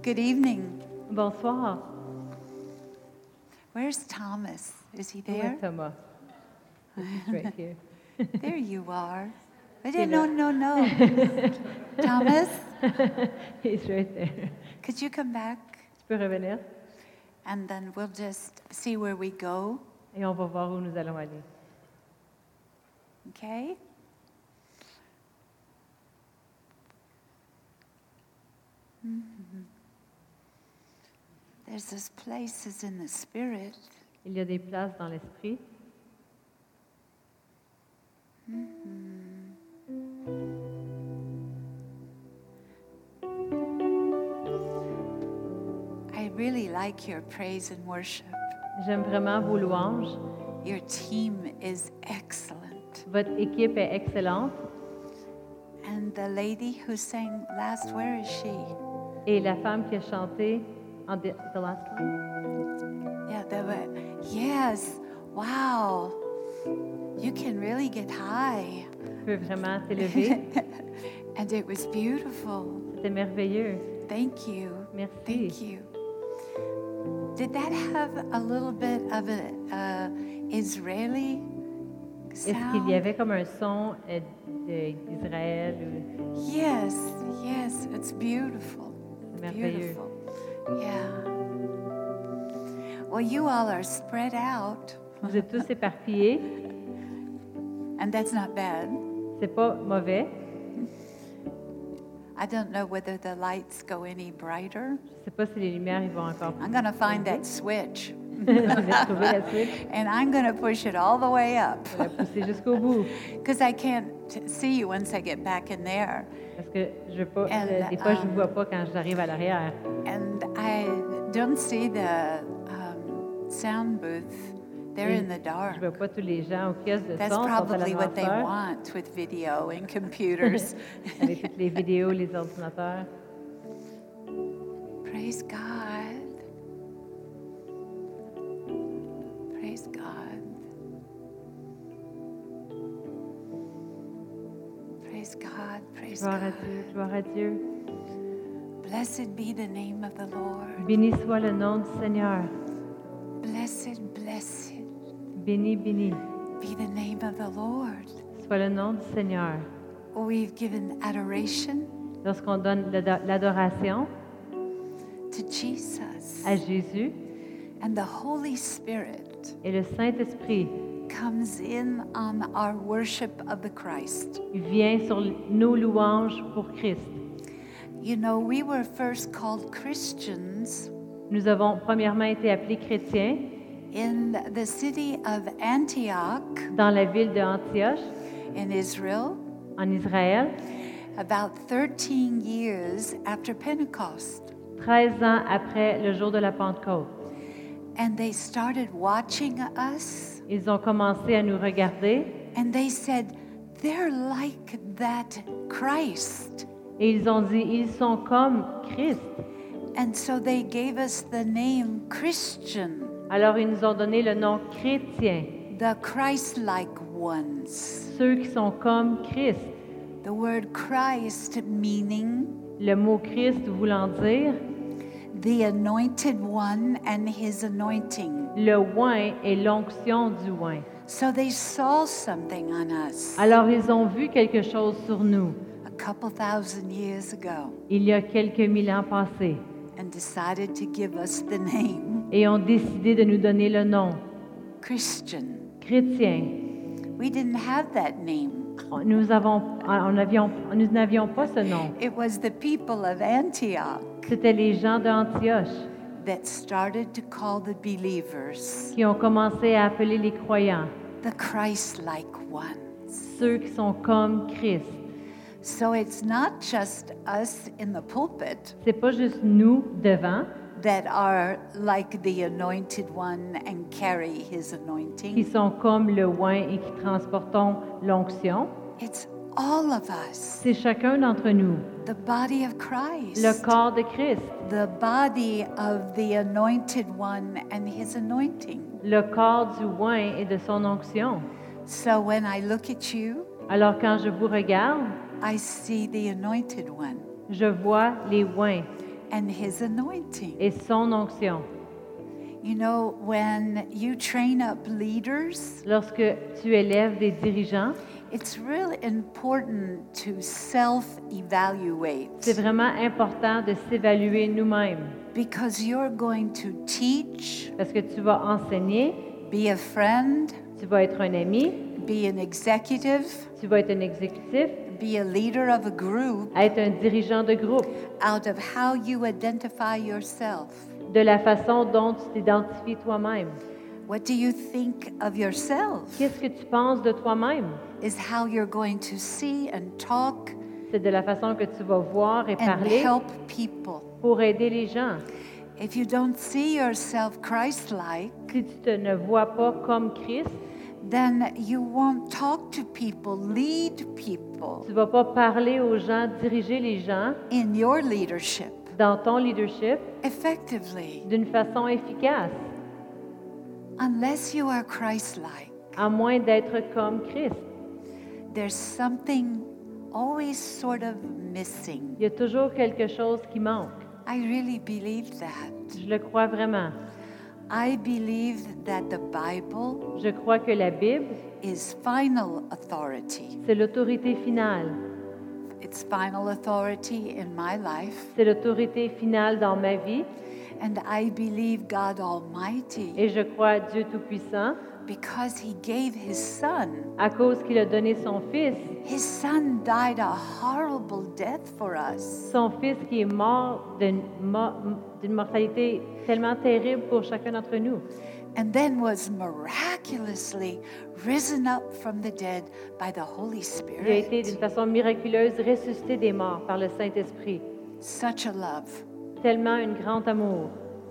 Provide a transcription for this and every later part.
Good evening. Bonsoir. Where's Thomas? Is he Où est there? Thomas? He's right here. There you are. I He's didn't no. Thomas, He's right there. could you come back? Tu peux revenir And then we'll just see where we go, et on va voir où nous allons aller. okay? Mhm. There's those places in the spirit. Il y a des places dans l'esprit. I really like your praise and worship. J'aime vraiment vos louanges. Your team is excellent. Votre équipe est excellente. And the lady who sang last, where is she? Et la femme qui a chanté en the last one. Yeah, yes. Wow. You can really get high. Tu peux vraiment t'élever. And it was beautiful. C'était merveilleux. Thank you. Merci. Thank you. Did that have a little bit of an Israeli Est-ce qu'il sound? y avait comme un son d'Israël? Yes, it's beautiful. Merveilleux. Beautiful. Yeah. Well, you all are spread out, Vous êtes tous éparpillés. and that's not bad. C'est pas mauvais. I don't know whether the lights go any brighter. Je sais pas si les lumières ils vont encore I'm going to find that switch, Vous allez trouver la switch. and I'm going to push it all the way up Je vais la pousser jusqu'au bout. because I can't see you once I get back in there. Parce que je veux pas, And, des fois, je ne vois pas quand j'arrive à l'arrière. And I don't see the sound booth. They're Et in the dark. Je vois pas tous les gens au kiosque de That's son, sont à probably what they l'ordinateur, want with video and computers. avec toutes les vidéos, les ordinateurs. Praise God. Praise God. Praise God. Praise Gloire à God. Dieu, gloire à Dieu. Blessed be the name of the Lord. Béni soit le nom du Seigneur. Blessed, blessed Béni, béni be the name of the Lord. soit le nom du Seigneur. We've given adoration Lorsqu'on donne l'adoration to Jesus, à Jésus and the Holy Spirit et le Saint-Esprit comes in on our worship of the Christ. vient sur nos louanges pour Christ. You know, we were first called Christians Nous avons premièrement été appelés chrétiens in the city of Antioch dans la ville d'Antioche, in Israel en Israël, about 13 years after Pentecost. 13 ans après le jour de la Pentecôte. And they started watching us, Ils ont commencé à nous regarder and they said, they're like that Christ. et ils ont dit, ils sont comme Christ. And so they gave us the name Christian, Alors ils nous ont donné le nom chrétien, the Christ-like ones. ceux qui sont comme Christ. The word Christ meaning Le mot Christ voulant dire the anointed one and his anointing. le oint et l'onction du oint. So they saw something on us Alors ils ont vu quelque chose sur nous a couple thousand years ago il y a quelques mille ans passés and decided to give us the name et ont décidé de nous donner le nom Christian. chrétien. We didn't have that name. Nous n'avions pas ce nom. It was the people of Antioch C'était les gens d'Antioche that started to call the believers qui ont commencé à appeler les croyants, the Christ-like ones. ceux qui sont comme Christ. So it's not just us in the pulpit C'est pas juste nous devant that are like the anointed one and carry his qui anointing. sont comme le oint et qui transportons l'onction. It's all of us, C'est chacun d'entre nous, the body of Christ, le corps de Christ, the body of the anointed one and his anointing. le corps du oint et de son onction. So when I look at you, Alors quand je vous regarde, I see the anointed one. je vois les oints and His anointing. et son onction. You know, when you train up leaders, Lorsque tu élèves des dirigeants, it's really important to self-evaluate c'est vraiment important de s'évaluer nous-mêmes because you're going to teach, parce que tu vas enseigner, be a friend, tu vas être un ami, be an executive, tu vas être un exécutif, be a leader of a group être un dirigeant de groupe, out of how you identify yourself. de la façon dont tu t'identifies toi-même. What do you think of yourself? Qu'est-ce que tu penses de toi-même? Is how you're going to see and talk C'est de la façon que tu vas voir et and parler help people. pour aider les gens. If you don't see yourself Christ-like, Si tu ne vois pas comme Christ, then you won't talk to people, lead people tu ne vas pas parler aux gens, diriger les gens in your leadership dans ton leadership effectively d'une façon efficace, unless you are Christ-like. à moins d'être comme Christ. There's something always sort of missing. Il y a toujours quelque chose qui manque. I really believe that. Je le crois vraiment. I believe that the Bible Je crois que la Bible, is final authority. c'est l'autorité finale. It's final authority in my life. C'est l'autorité finale dans ma vie. And I believe God Almighty Et je crois à Dieu Tout-Puissant because He gave His Son. à cause qu'il a donné son Fils. His Son died a horrible death for us. Son Fils qui est mort d'une mortalité tellement terrible pour chacun d'entre nous. And then was miraculously risen up from the dead by the Holy Il a été d'une Spirit. façon miraculeuse ressuscité des morts par le Saint-Esprit. Such a love. Tellement un grand amour.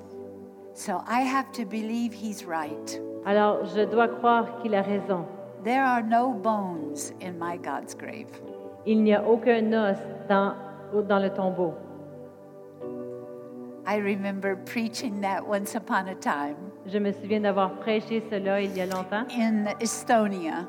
So I have to believe He's right. Alors, je dois croire qu'il a raison. There are no bones in my God's grave. Il n'y a aucun os dans le tombeau. I remember preaching that once upon a time Je me souviens d'avoir prêché cela il y a longtemps in Estonia.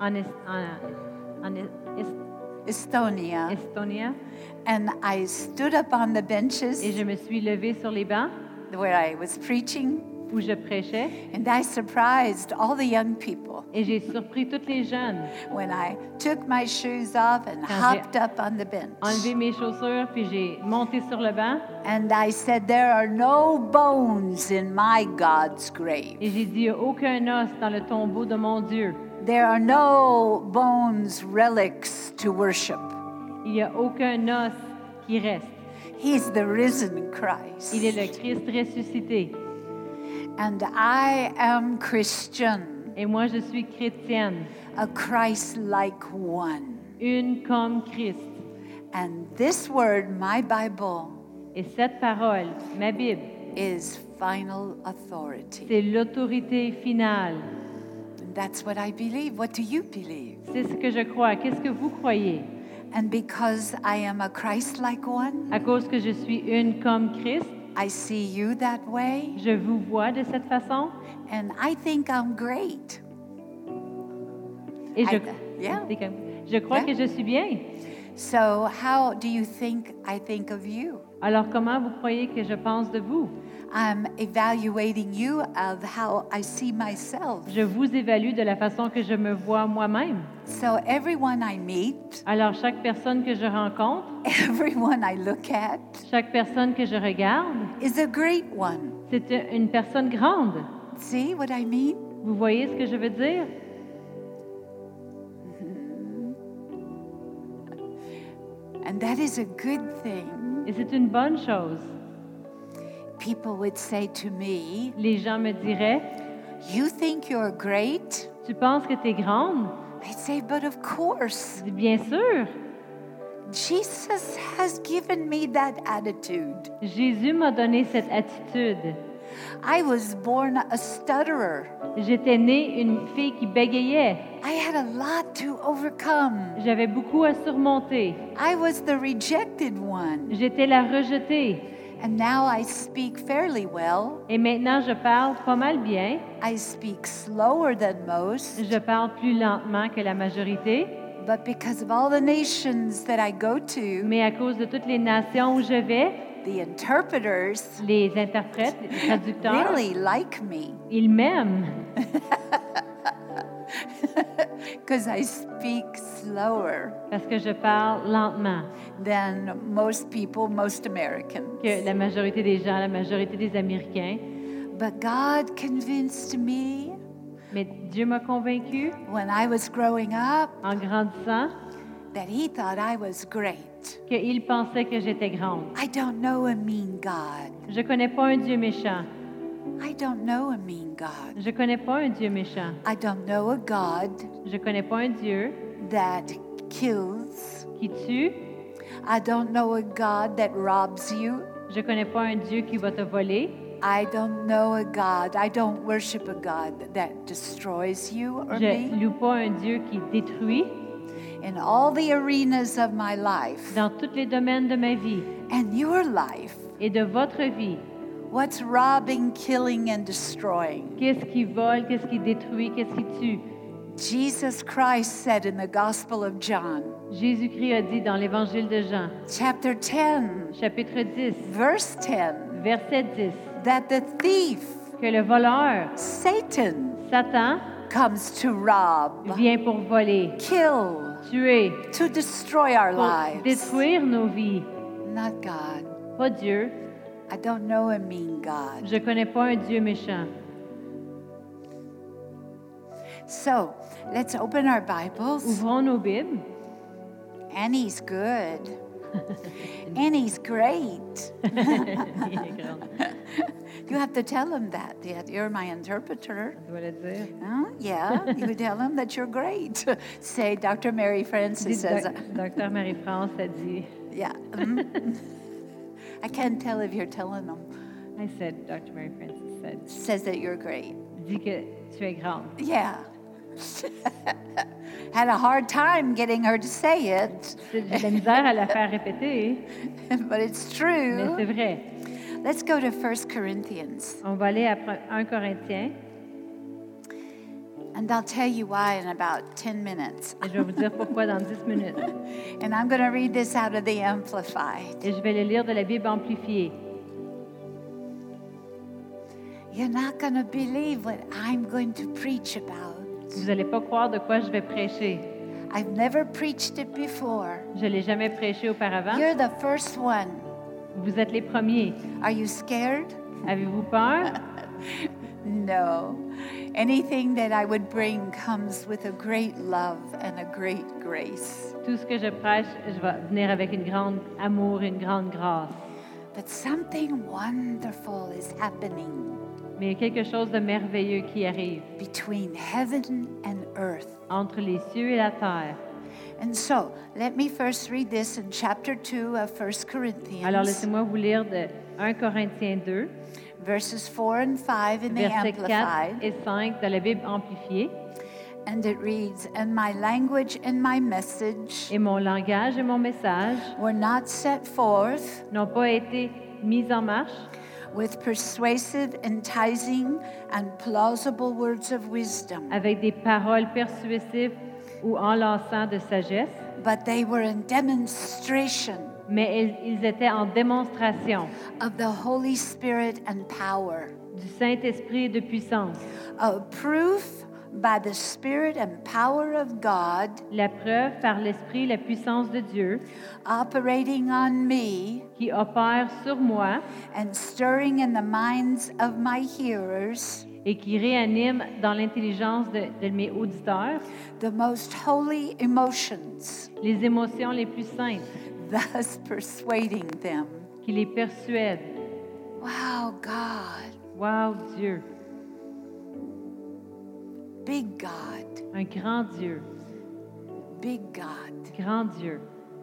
en Estonia. Estonia. And I stood up on the benches Et je me suis levée sur les bancs where I was preaching, où je prêchais and I surprised all the young people et j'ai surpris tous les jeunes. when I took my shoes off and hopped up on the bench. Enlevé mes chaussures puis j'ai monté sur le banc And I said, there are no bones in my God's grave. et j'ai dit il n'y a aucun os dans le tombeau de mon Dieu. There are no bones, relics to worship. Il n'y a aucun os qui reste. He's the risen Il est Christ. le Christ ressuscité. And I am Christian, Et moi, je suis chrétienne, a Christ-like one. une comme Christ. And this word, my Bible, Et cette parole, ma Bible, is final authority. c'est l'autorité finale. And that's what I believe. What do you believe? C'est ce que je crois. Qu'est-ce que vous croyez? And because I am a Christ-like one, À cause que je suis une comme Christ, I see you that way, je vous vois de cette façon. and I think I'm great. Et je, Yeah. je crois Yeah. que je suis bien. So how do you think I think of you? Alors comment vous croyez que je pense de vous? I'm evaluating you of how I see myself. Je vous évalue de la façon que je me vois moi-même. So everyone I meet, Alors chaque personne que je rencontre, everyone I look at chaque personne que je regarde, is a great one. c'est une personne grande. See what I mean? Vous voyez ce que je veux dire? And that is a good thing. Et c'est une bonne chose. People would say to me, Les gens me diraient, you think you're great? tu penses que tu es grande? I'd say, but of course. Je dis, bien sûr. Jesus has given me that attitude. Jésus m'a donné cette attitude. I was born a stutterer. J'étais née une fille qui bégayait. I had a lot to overcome. J'avais beaucoup à surmonter. I was the rejected one. J'étais la rejetée. And now I speak fairly well. Et maintenant, je parle pas mal bien. I speak slower than most. Je parle plus lentement que la majorité. But because of all the nations that I go to, Mais à cause de toutes les nations où je vais, The interpreters Les interprètes, les traducteurs, really like me ils m'aiment because I speak slower parce que je parle lentement than most people, most Americans. que la majorité des gens, la majorité des Américains. But God convinced me Mais Dieu m'a convaincu when I was growing up en grandissant that He thought I was great. qu'il pensait que j'étais grande. I don't know a mean God. Je connais pas un Dieu méchant. I don't know a mean God. Je connais pas un Dieu méchant. I don't know a God Je connais pas un Dieu that kills. qui tue. I don't know a God that robs you. Je connais pas un Dieu qui va te voler. I don't know a God. I don't worship a God that destroys you or Je me. loue pas un Dieu qui détruit. In all the arenas of my life Dans tous les domaines de ma vie and your life, et de votre vie, what's robbing, killing, and destroying? qu'est-ce qui vole, qu'est-ce qui détruit, qu'est-ce qui tue? Jesus Christ said in the Gospel of John, Jésus-Christ a dit dans l'Évangile de Jean, chapter 10, chapitre 10, verse 10, verset 10, that the thief, que le voleur, Satan, Satan, comes to rob, vient pour voler, kill, tuer, to destroy our pour lives. détruire nos vies. Not God. Pas Dieu. I don't know a mean God. Je connais pas un Dieu méchant. So let's open our Bibles. Ouvrons nos Bibles. Annie's good. Annie's great. Il est grand. You have to tell him that. You're my interpreter. Je dois le dire. Huh? Yeah, you would tell him that you're great. Say, Dr. Mary Francis Dis, says, Docteur Marie-France a dit, yeah. I can't tell if you're telling him. I said, Dr. Mary Francis said, Says that you're great. dis que tu es grande. Yeah. Had a hard time getting her to say it, J'ai de la misère à la faire répéter, but it's mais true. c'est vrai. Let's go to 1 Corinthians, On va aller à 1 Corinthiens and I'll tell you why in about 10 minutes. et je vais vous dire pourquoi dans 10 minutes. And I'm going to read this out of the Amplified. Et je vais le lire de la Bible amplifiée. You're not going to believe what I'm going to preach about. Vous n'allez pas croire de quoi je vais prêcher. I've never preached it before. Je ne l'ai jamais prêché auparavant. You're the first one. Vous êtes les premiers. Are you scared? Avez-vous peur? No. Anything that I would bring comes with a great love and a great grace. Tout ce que je prêche, je vais venir avec une grande amour, une grande grâce. But something wonderful is happening Mais il y a quelque chose de merveilleux qui arrive between heaven and earth. entre les cieux et la terre. And so, let me first read this in chapter 2 of 1 Corinthians, Alors laissez-moi vous lire de 1 Corinthiens 2, verses 4 and 5 in the versets 4 Amplified. et 5 de la Bible amplifiée. And it reads, "And my language and my message Et mon langage et mon message were not set forth n'ont pas été mis en marche with persuasive, enticing, and plausible words of wisdom, avec des paroles persuasives ou enlaçant de sagesse, but they were in demonstration mais ils étaient en démonstration of the Holy Spirit and power, du Saint-Esprit et de puissance. a proof by the Spirit and power of God La preuve par l'Esprit, la puissance de Dieu operating on me qui opère sur moi and stirring in the minds of my hearers et qui réanime dans l'intelligence de mes auditeurs the most holy emotions, les émotions les plus saintes, thus persuading them." qui les persuèdent. Wow, God, Wow, Dieu, big God, un grand Dieu, big God. grand Dieu.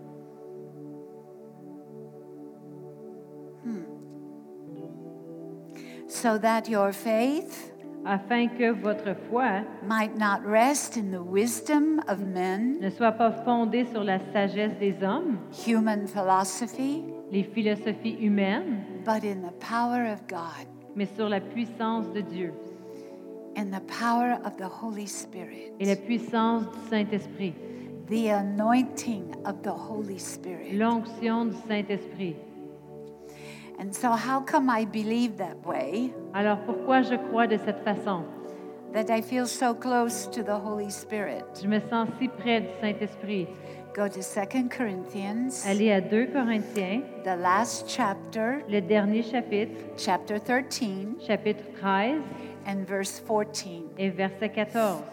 So that your faith Afin que votre foi might not rest in the wisdom of men, ne soit pas fondée sur la sagesse des hommes, human philosophy, les philosophies humaines, but in the power of God, mais sur la puissance de Dieu in the power of the Holy Spirit, et la puissance du Saint-Esprit, the anointing of the Holy Spirit. l'onction du Saint-Esprit. And so how come I believe that way? Alors pourquoi je crois de cette façon? That I feel so close to the Holy Spirit. Je me sens si près du Saint-Esprit. Go to 2 Corinthians, Allez à 2 Corinthiens, the last chapter, le dernier chapitre, chapter 13, chapitre 13 and verse 14. et verset 14.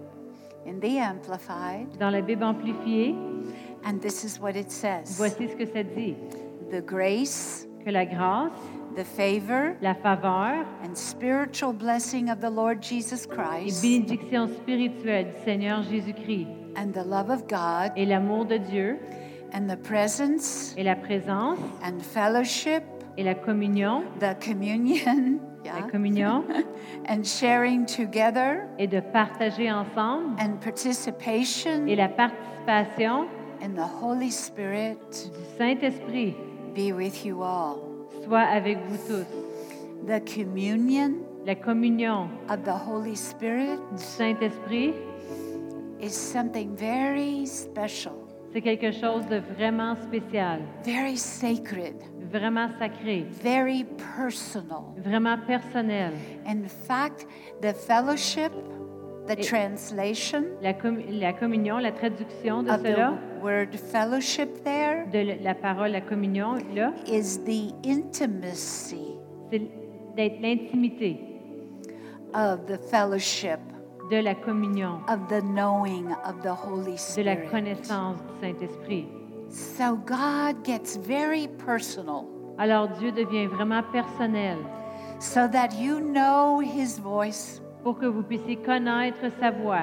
In the Amplified, Dans la Bible amplifiée, and this is what it says. voici ce que ça dit. The grace, Que la grâce, the favor, la faveur and spiritual blessing of the Lord Jesus et Christ, bénédiction spirituelle du Seigneur Jésus-Christ and the love of God, et l'amour de Dieu and the presence, et la présence and fellowship, et la communion, the communion, la communion and sharing together, et de partager ensemble and participation et la participation in the Holy Spirit du Saint-Esprit be with you all. soit avec vous tous. The communion La communion of the Holy Spirit du Saint-Esprit, is something very special, c'est quelque chose de vraiment spécial, very sacred, vraiment sacré, very personal. vraiment personnel. In fact, the fellowship, the Et- translation La communion, la traduction de of cela, the word fellowship there de la parole la communion, là, is the intimacy c'est d'être l'intimité of the fellowship, de la communion, of the knowing of the Holy de la Spirit. connaissance du Saint-Esprit. So God gets very personal Alors Dieu devient vraiment personnel so that you know His voice, pour que vous puissiez connaître sa voix.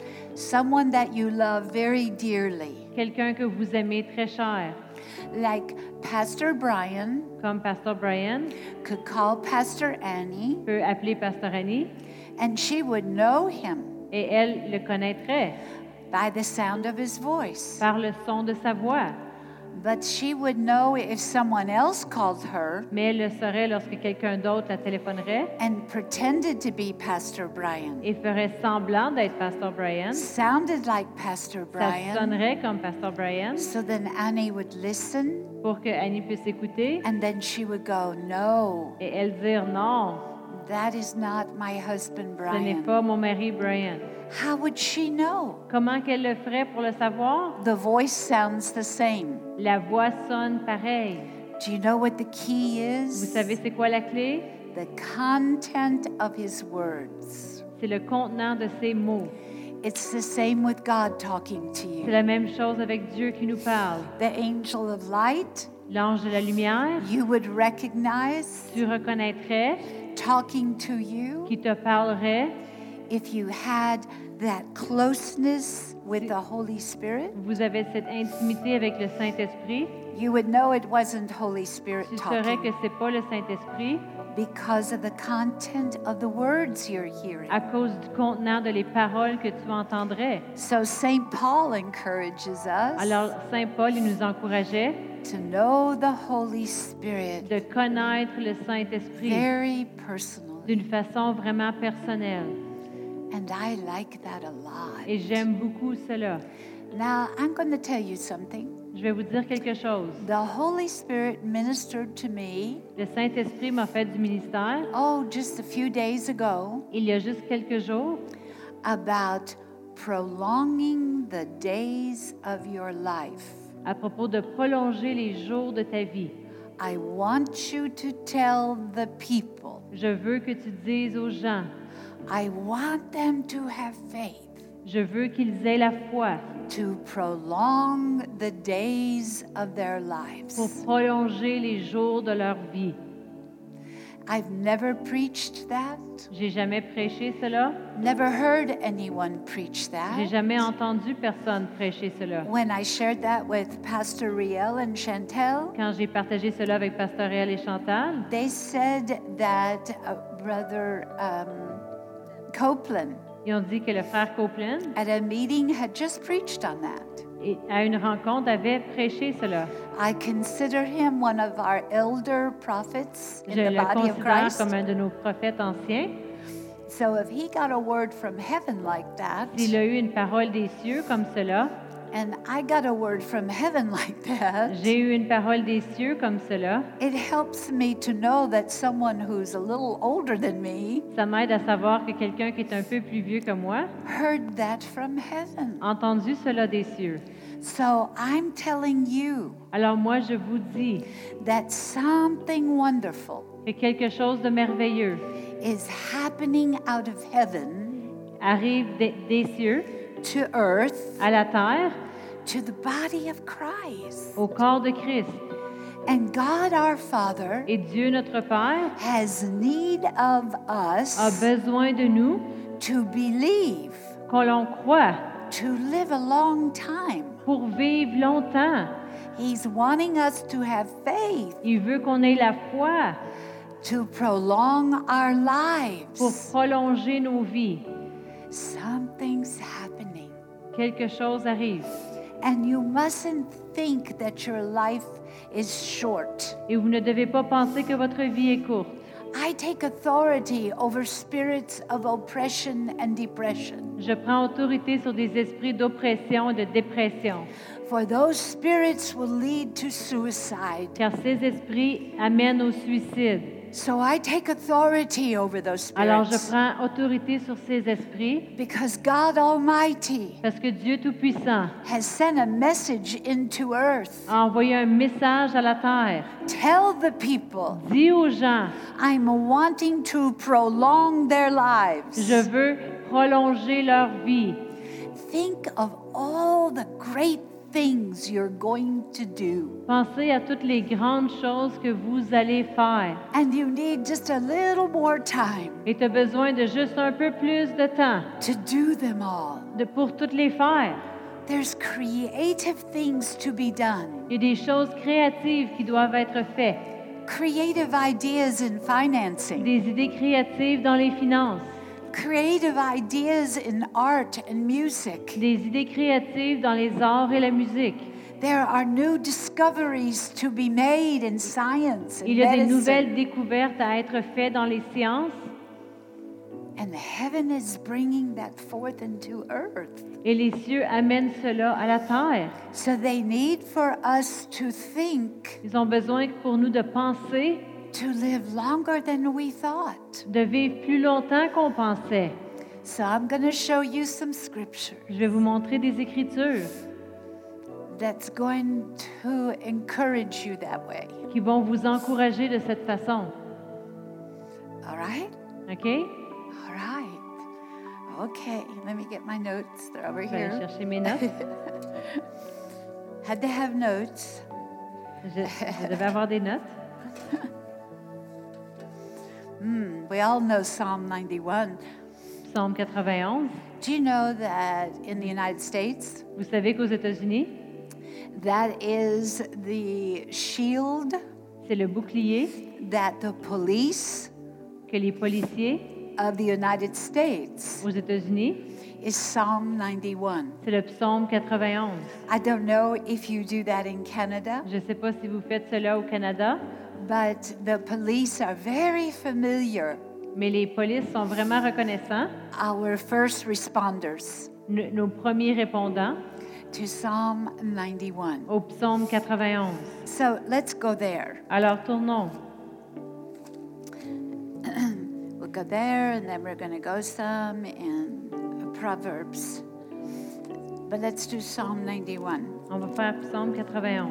someone that you love very dearly, Quelqu'un que vous aimez très cher, like Pastor Brian comme Pasteur Brian could call Pastor Annie peut appeler Pasteur Annie and she would know him et elle le connaîtrait by the sound of his voice. par le son de sa voix. But she would know if someone else called her Mais elle le saurait lorsque quelqu'un d'autre la téléphonerait and pretended to be Pastor Brian, et ferait semblant d'être Pasteur Brian. sounded like Pastor Ça Brian. sonnerait comme Pasteur Brian So then Annie would listen pour que Annie puisse écouter and then she would go, "No, et elle dire non, that is not my husband ce n'est Brian." pas mon mari Brian. How would she know? Comment qu'elle le ferait pour le savoir? The voice sounds the same. La voix sonne pareil. Do you know what the key Vous is? savez c'est quoi la clé? The content of his words. C'est le contenant de ses mots. It's the same with God talking to C'est you. la même chose avec Dieu qui nous parle. The angel of light, L'ange de la lumière, you would recognize tu reconnaîtrais, talking to you qui te parlerait. if you had that closeness with the Holy Spirit. Vous avez cette intimité avec le Saint-Esprit. You would know it wasn't Holy Spirit Tu saurais que talking c'est pas le Saint-Esprit because of the content of the words you're hearing. à cause du contenant de les paroles que tu entendrais. So St. Paul encourages us Alors, Saint Paul, il nous encourageait to know the Holy Spirit de connaître le Saint-Esprit very personally. d'une façon vraiment personnelle. And I like that a lot. Et j'aime beaucoup cela. Now, I'm going to tell you something. Je vais vous dire quelque chose. The Holy Spirit ministered to me, Le Saint-Esprit m'a fait du ministère just a few days ago, il y a juste quelques jours about prolonging the days of your life. à propos de prolonger les jours de ta vie. I want you to tell the people. Je veux que tu dises aux gens, I want them to have faith je veux qu'ils aient la foi to prolong the days of their lives. pour prolonger les jours de leur vie. I've never preached that, J'ai jamais prêché cela. never heard anyone preach J'ai that. jamais entendu personne prêcher cela. When I shared that with Pastor Riel and Chantel, Quand j'ai partagé cela avec Pasteur Réal et Chantal, they said that Brother Copeland ils ont dit que le frère Copeland, at a meeting had just preached on that. à une rencontre, avait prêché cela. I consider him one of our elder prophets in Je the le body of considère Christ. comme un de nos prophètes anciens. So if he got a word from heaven like that, S'il a eu une parole des cieux comme cela, And I got a word from heaven like that. J'ai eu une parole des cieux comme cela. It helps me to know that someone who's a little older than me Ça m'aide à savoir que quelqu'un qui est un peu plus vieux que moi heard that from heaven. a entendu cela des cieux. So I'm telling you Alors moi, je vous dis that something wonderful que quelque chose de merveilleux is happening out of heaven arrive des cieux to earth, à la terre, to the body of Christ. au corps de Christ. And God our Father Et Dieu, notre Père, has need of a us besoin de nous, to believe, qu'on l'on croit, to live a long time. pour vivre longtemps. He's wanting us to have faith, Il veut qu'on ait la foi to prolong our pour lives. prolonger nos vies. Something's happening. Quelque chose arrive. And you mustn't think that your life is short. Et vous ne devez pas penser que votre vie est courte. I take authority over spirits of oppression and depression. Je prends autorité sur des esprits d'oppression et de dépression, For those spirits will lead to suicide. car ces esprits amènent au suicide. So I take authority over those Alors je spirits. prends autorité sur ces esprits Because God Almighty parce que Dieu Tout-Puissant has sent a message into earth. a envoyé un message à la terre. Tell the people, Dis aux gens, I'm wanting to prolong their lives. je veux prolonger leur vie. Think of all the great things you're going to do. Pensez à toutes les grandes choses que vous allez faire. And you need just a little more time Et tu as besoin de juste un peu plus de temps to do them all. pour toutes les faire. There's creative things to be done. Il y a des choses créatives qui doivent être faites. Creative ideas in financing. Des idées créatives dans les finances. Creative ideas in art and music. Des idées créatives dans les arts et la musique. There are new discoveries to be made in science and Il y a des medicine. nouvelles découvertes à être faites dans les sciences. And heaven is bringing that forth into earth. Et les cieux amènent cela à la terre. So they need for us to think, Ils ont besoin pour nous de penser, to live longer than we thought. de vivre plus longtemps qu'on pensait. So I'm going to show you some scripture Je vais vous montrer des écritures that's going to encourage you that way. qui vont vous encourager de cette façon. All right? OK? All right. Okay, let me get my notes. They're over Je vais aller here. chercher mes notes. Had to have notes. Je devais avoir des notes. We all know Psalm 91. Psaume 91. Do you know that in the United States, Vous savez qu'aux États-Unis, that is the shield c'est le bouclier that the police que les policiers of the United States aux États-Unis, is Psalm 91. c'est le psaume 91. I don't know if you do that in Canada, Je ne sais pas si vous faites cela au Canada, but the police are very familiar, mais les polices sont vraiment reconnaissants, our first responders, nos premiers répondants, to Psalm 91. au psaume 91. So let's go there. Alors tournons. We'll go there and then we're going to go some in Proverbs. But let's do Psalm 91. On va faire psaume 91.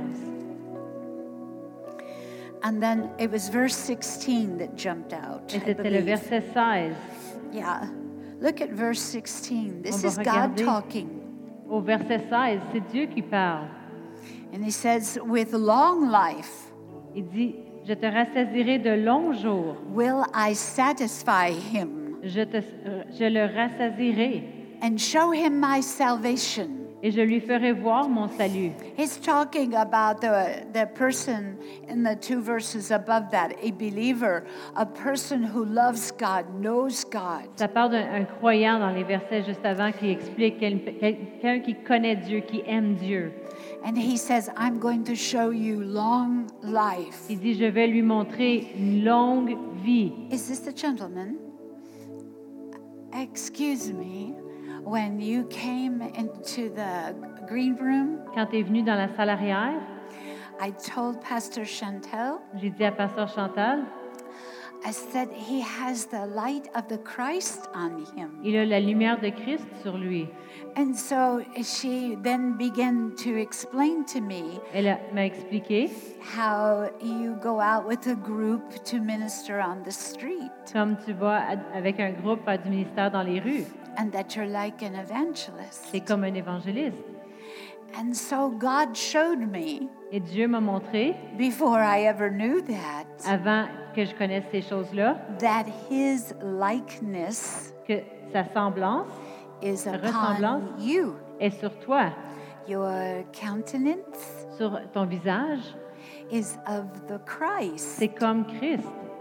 And then it was verse 16 that jumped out. Et I c'était le believe. verset 16. Yeah. Look at verse 16. This On is va God regarder. talking. Au verset 16, c'est Dieu qui parle. And he says, with long life Il dit, je te rassasirai de longs jours. will I satisfy him Je le rassasirai and show him my salvation. et je lui ferai voir mon salut. He's talking about the person in the two verses above that, a believer, a person who loves God, knows God. Ça parle d'un croyant dans les versets juste avant qui explique quelqu'un qui connaît Dieu, qui aime Dieu. And he says, I'm going to show you long life. Il dit, je vais lui montrer une longue vie. Is this the gentleman? Excuse me. when you came into the green room, Quand tu es venu dans la salle arrière, I told Pastor Chantel, j'ai dit à Pasteur Chantal, I said, he has the light of the Christ on him. il a la lumière de Christ sur lui. And so she then began to explain to me M'a expliqué how you go out with a group to minister on the street comme tu vas avec un groupe faire du ministère dans les rues. and that you're like an evangelist. C'est comme un évangéliste. And so God showed me, Et Dieu m'a montré, before I ever knew that, avant que je connaisse ces choses-là, that his likeness que sa semblance is ressemblance upon you. est sur toi, Your countenance sur ton visage. is of the Christ. C'est comme Christ.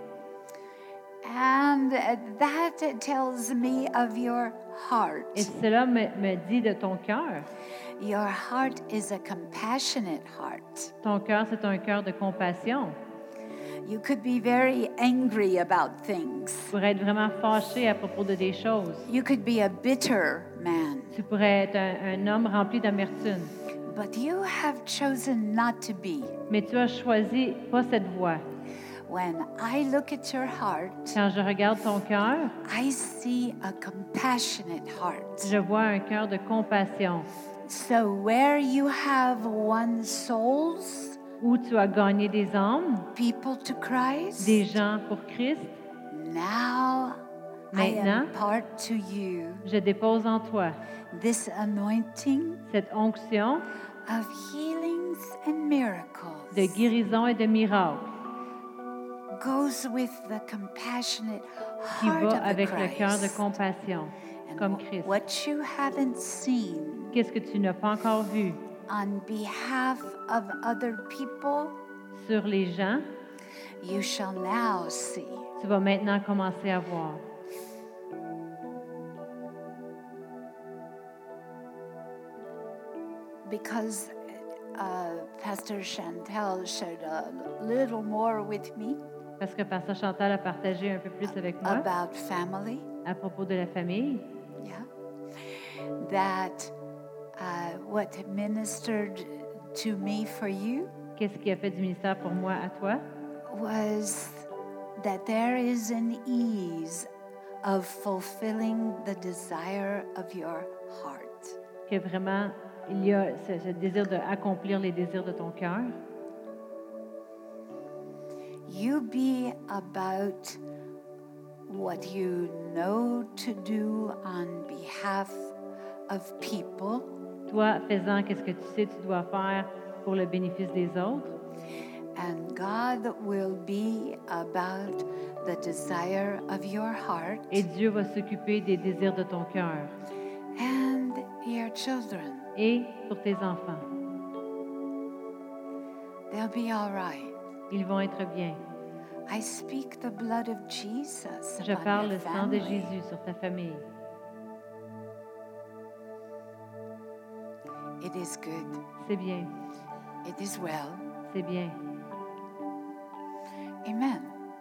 And that tells me of your heart. Et cela me dit de ton cœur. Your heart is a compassionate heart. Ton cœur, c'est un cœur de compassion. You could be very angry about things. Tu pourrais être vraiment fâché à propos de des choses. You could be a bitter man. Tu pourrais être un homme rempli d'amertume. But you have chosen not to be. Mais tu as choisi pas cette voie. When I look at your heart, Quand je regarde ton cœur, I see a compassionate heart. je vois un cœur de compassion. So where you have won souls, Où tu as gagné des âmes, people to Christ, des gens pour Christ, now I Maintenant, impart to you je dépose en toi this anointing cette onction of healings and miracles. de guérison et de miracle Goes with the compassionate qui heart va of the avec le cœur de Christ. compassion, And comme Christ. what you haven't seen Qu'est-ce que tu n'as pas encore vu on behalf of other people, sur les gens, you shall now see. tu vas maintenant commencer à voir. Because Pastor Chantel shared a little more with me Parce que Pasteur Chantal a partagé un peu plus avec moi about family, à propos de la famille, yeah, that what ministered to me for you qu'est-ce qui a fait du ministère pour moi à toi, was that there is an ease of fulfilling the desire of your heart. que vraiment il y a ce désir d'accomplir les désirs de ton cœur. You be about what you know to do on behalf of people, Toi, faisant qu'est-ce que tu sais tu dois faire pour le bénéfice des autres, and God will be about the desire of your heart et Dieu va s'occuper des désirs de ton cœur and your children. et pour tes enfants. They'll be all right. Ils vont être bien. I speak the blood of Jesus Je upon parle your le sang de family. Jésus sur ta famille. It is good. C'est bien, It is well. c'est bien. Amen.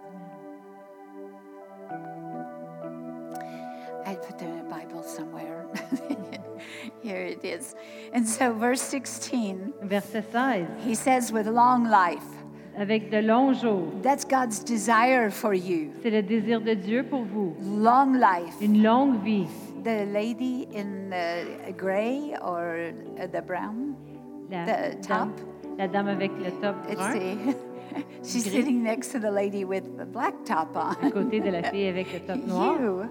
I put the Bible somewhere. Here it is. And so, verse 16, Verset 16. he says, with long life. Avec de longs jours. That's God's desire for you. C'est le désir de Dieu pour vous. Long life. Une longue vie. The lady in the gray or the brown, the top. La dame avec le top It's brun, she's Gris. sitting next to the lady with the black top à on. côté de la fille avec le top noir. You.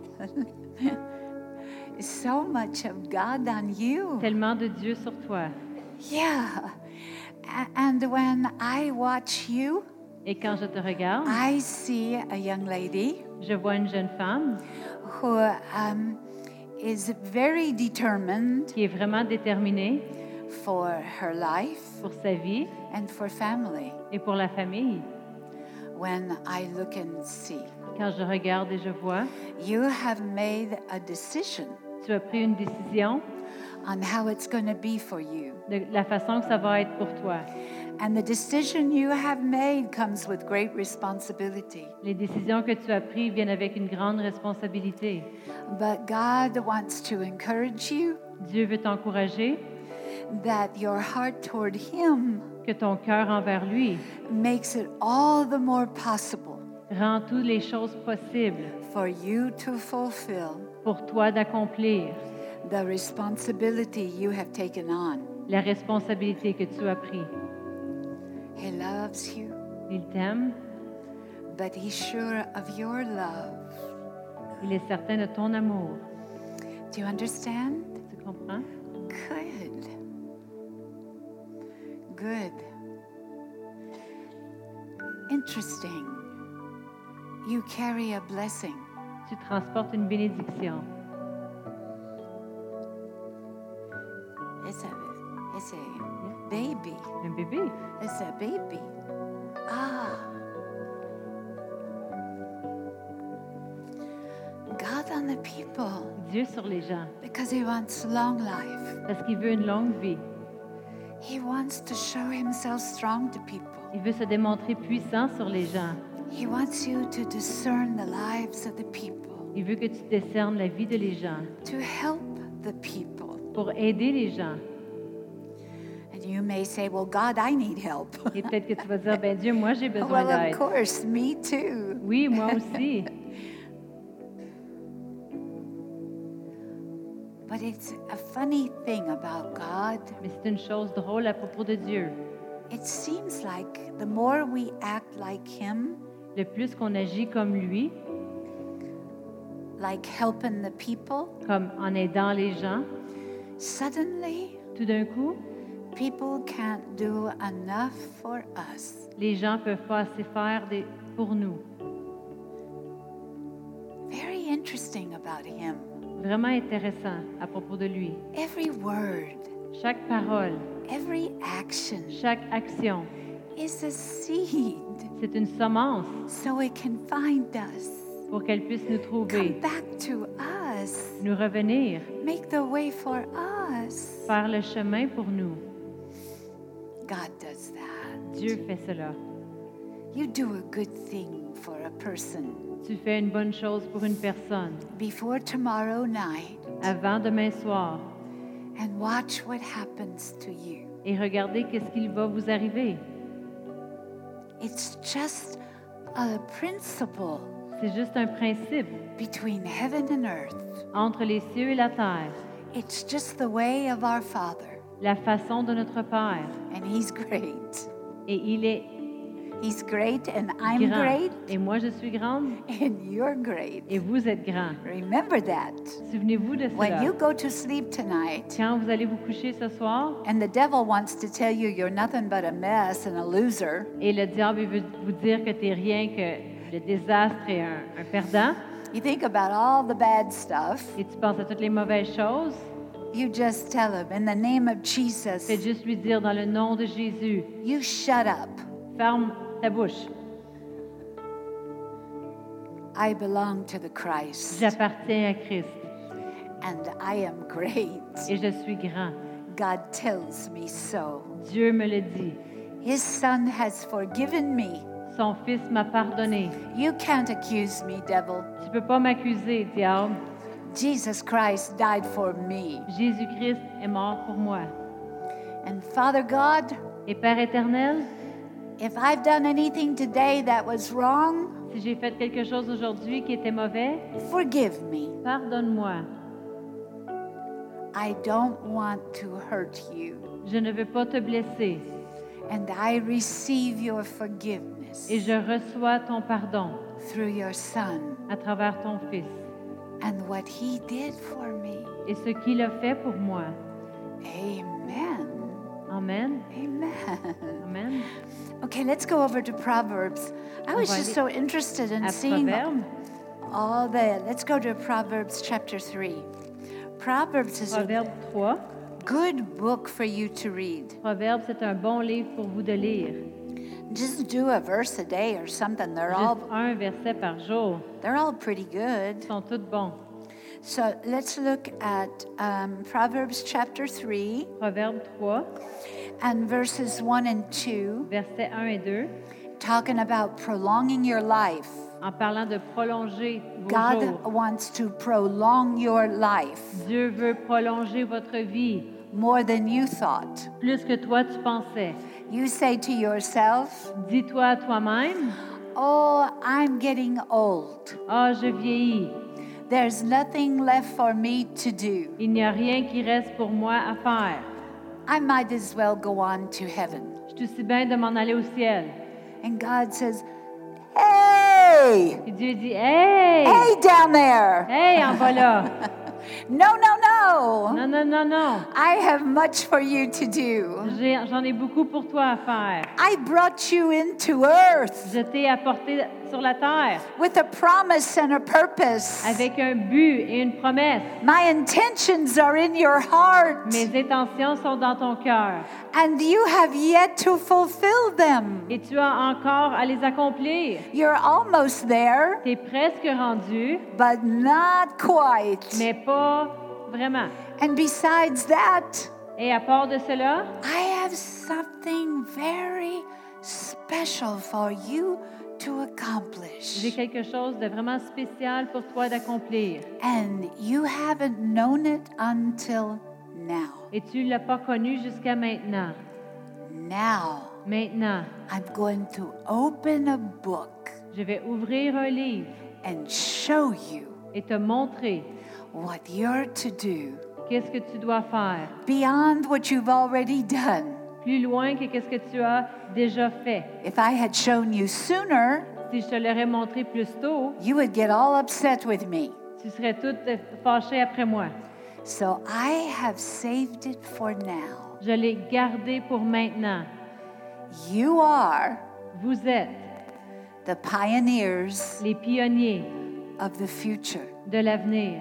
So much of God on you. Tellement de Dieu sur toi. Yeah. And when I watch you, Et quand je te regarde, I see a young lady je vois une jeune femme who is very determined qui est vraiment déterminée for her life pour sa vie and for family. et pour la famille. When I look and see, Quand je regarde et je vois, you have made a decision tu as pris une décision on how it's going to be for you. de la façon que ça va être pour toi. And the decision you have made comes with great responsibility. Les décisions que tu as prises viennent avec une grande responsabilité. But God wants to encourage you Dieu veut t'encourager that your heart toward Him que ton cœur envers lui makes it all the more possible rend toutes les choses possibles for you to fulfill pour toi d'accomplir the responsibility you have taken on. la responsabilité que tu as prise. He loves you, Il t'aime, but He's sure of your love. il est certain de ton amour. Do you understand? Tu comprends? Good. Good. Interesting. You carry a blessing. Tu transportes une bénédiction. It's a baby. Un bébé. It's a baby. Ah. God on the people, Dieu sur les gens, because He wants long life. parce qu'il veut une longue vie. He wants to show Himself strong to people. Il veut se démontrer puissant sur les gens. He wants you to discern the lives of the people, Il veut que tu discernes la vie de les gens to help the people. pour aider les gens. And you may say, well, God, I need help. Et peut-être que tu vas dire, ben Dieu, moi j'ai besoin Well, of d'aide. course, me too. Oui, moi aussi. But it's a funny thing about God. Mais c'est une chose drôle à propos de Dieu. It seems like the more we act like Him, Le plus qu'on agit comme lui, like helping the people, comme en aidant les gens, suddenly tout d'un coup, people can't do enough for us. les gens peuvent pas assez faire pour nous. Very interesting about Him. Vraiment intéressant à propos de lui. Every word, Chaque parole, every action chaque action, is a seed c'est une semence so it can find us, pour qu'elle puisse nous come trouver, back to us, nous revenir, make the way for us. faire le chemin pour nous. God does that. Dieu fait cela. You do a good thing for a person. Tu fais une bonne chose pour une personne Before tomorrow night, avant demain soir and watch what happens to you. et regardez qu'est-ce qu'il va vous arriver. It's just a principle C'est juste un principe between heaven and earth. entre les cieux et la terre, It's just the way of our Father, la façon de notre Père. and He's great. Et il est He's great, and I'm grand. great, Et moi, je suis grande and you're great. et vous êtes grand. Remember that. Souvenez-vous de When cela. you go to sleep tonight, Quand vous allez vous coucher ce soir and the devil wants to tell you you're nothing but a mess and a loser, et le diable il veut vous dire que tu n'es rien que le désastre et un perdant, you think about all the bad stuff, et tu penses à toutes les mauvaises choses, you just tell him, in the name of Jesus, fais juste lui dire dans le nom de Jésus, you shut up. ferme ta bouche. I belong to the Christ, J'appartiens à Christ and I am great. et je suis grand. God tells me so. Dieu me le dit. His Son has forgiven me. Son Fils m'a pardonné. You can't accuse me, devil. Tu peux pas m'accuser, diable. Jesus Christ died for me. Jésus-Christ est mort pour moi. And Father God, Et Père éternel, if I've done anything today that was wrong, si j'ai fait quelque chose aujourd'hui qui était mauvais, forgive me. pardonne-moi. I don't want to hurt you. Je ne veux pas te blesser And I receive your forgiveness et je reçois ton pardon through your Son à travers ton Fils and what He did for me. et ce qu'il a fait pour moi. Amen. Amen. Amen. Amen. Okay, let's go over to Proverbs. I was va just aller so interested in À seeing Proverbe, all the. Let's go to Proverbs chapter 3. Proverbs is a Proverbe 3. good book for you to read. Proverbe, c'est un bon livre pour vous de lire. Just do a verse a day or something. Juste un verset par jour. They're all pretty good. Ils sont tous bons. So let's look at Proverbs chapter 3 Proverbe 3, and verses 1 and 2, versets 1 et 2, talking about prolonging your life. en parlant de prolonger vos God jours. wants to prolong your life Dieu veut prolonger votre vie more than you thought. plus que toi tu pensais. You say to yourself, Dis-toi à toi-même, oh, I'm getting old. ah, je vieillis. There's nothing left for me to do. Il n'y a rien qui reste pour moi à faire. I might as well go on to heaven. Je suis aussi bien de m'en aller au ciel. And God says, hey, Et Dieu dit, hey, hey down there. hey, en bas là. No, no, no. Non, non, non, non. I have much for you to do. J'en ai beaucoup pour toi à faire. I brought you into earth Je t'ai apporté sur la terre with a promise and a purpose. avec un but et une promesse. My intentions are in your heart, Mes intentions sont dans ton cœur and you have yet to fulfill them. et tu as encore à les accomplir. You're almost there, Tu es presque rendu, but not quite. mais pas vraiment. And besides that, Et à part de cela, I have something very special for you to accomplish. j'ai quelque chose de vraiment spécial pour toi d'accomplir. And you haven't known it until now. Et tu ne l'as pas connu jusqu'à maintenant. Now, Maintenant, I'm going to open a book je vais ouvrir un livre and show you et te montrer what you're to do qu'est-ce que tu dois faire, beyond what you've already done. plus loin que qu'est-ce que tu as déjà fait. If I had shown you sooner, Si je te l'aurais montré plus tôt, you would get all upset with me. tu serais toute fâchée après moi. So I have saved it for now. Je l'ai gardé pour maintenant. You are Vous êtes the pioneers les pionniers of the future. de l'avenir.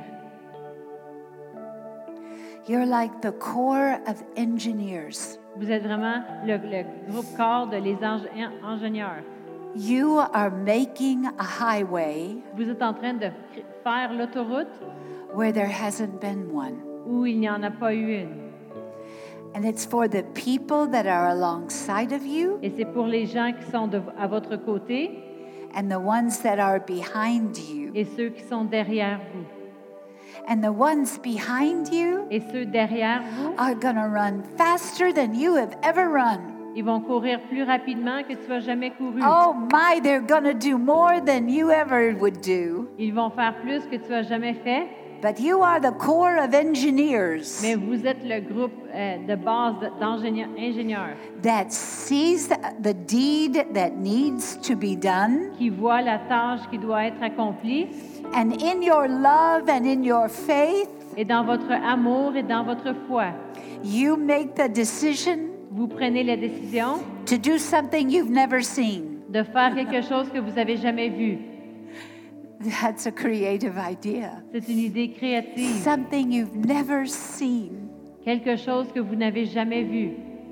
You're like the corps of engineers. Vous êtes vraiment le groupe corps de les ingénieurs. You are making a highway Vous êtes en train de faire l'autoroute where there hasn't been one. où il n'y en a pas eu une. And it's for the people that are alongside of you Et c'est pour les gens qui sont à votre côté and the ones that are behind you. et ceux qui sont derrière vous. And the ones behind you Et ceux derrière vous, are going to run faster than you have ever run. ils vont courir plus rapidement que tu as jamais couru. Oh my, they're going to do more than you ever would do. Ils vont faire plus que tu as jamais fait. But you are the corps of engineers Mais vous êtes le groupe de base d'ingénieurs that sees the deed that needs to be done. qui voient la tâche qui doit être accomplie. And in your love and in your faith, Et dans votre amour et dans votre foi, you make the decision vous prenez la décision to do something you've never seen. de faire quelque chose que vous n'avez jamais vu. That's a creative idea. C'est une idée créative, Something you've never seen quelque chose que vous n'avez jamais vu.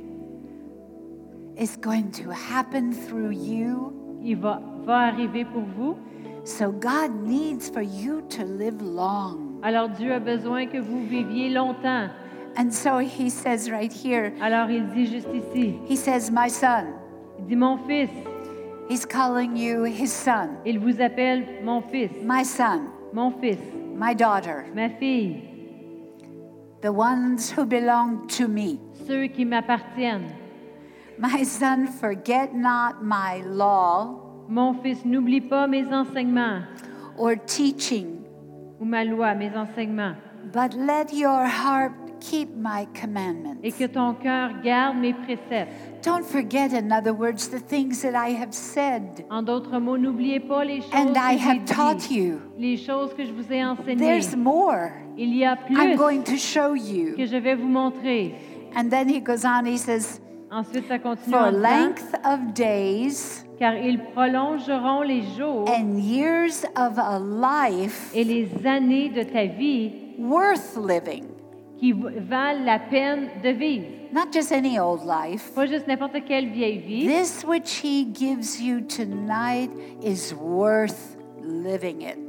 is going to happen through you. Il va arriver pour vous. So God needs for you to live long. Alors Dieu a besoin que vous viviez longtemps. And so he says right here, Alors il dit juste ici, he says, my son. il dit mon fils. He's calling you his son. Il vous appelle mon fils, My son, mon fils, my daughter, ma fille, the ones who belong to me. ceux qui m'appartiennent. My son, forget not my law Mon fils, n'oublie pas mes enseignements or teaching, ou ma loi, mes enseignements, but let your heart keep my et commandments. que ton cœur garde mes préceptes. Don't forget, in other words, the things that I have said En d'autres mots, n'oubliez pas les choses and I que j'ai have taught dites, you. les choses que je vous ai enseignées. There's more. Il y a I'm plus going to show you. que je vais vous montrer. And then he goes on, he says, Ensuite, ça continue for en disant, length of days car ils prolongeront les jours and years of a life et les années de ta vie worth living. qui valent la peine de vivre. Not just any old life. Pas juste n'importe quelle vieille vie. This which he gives you tonight is worth living it.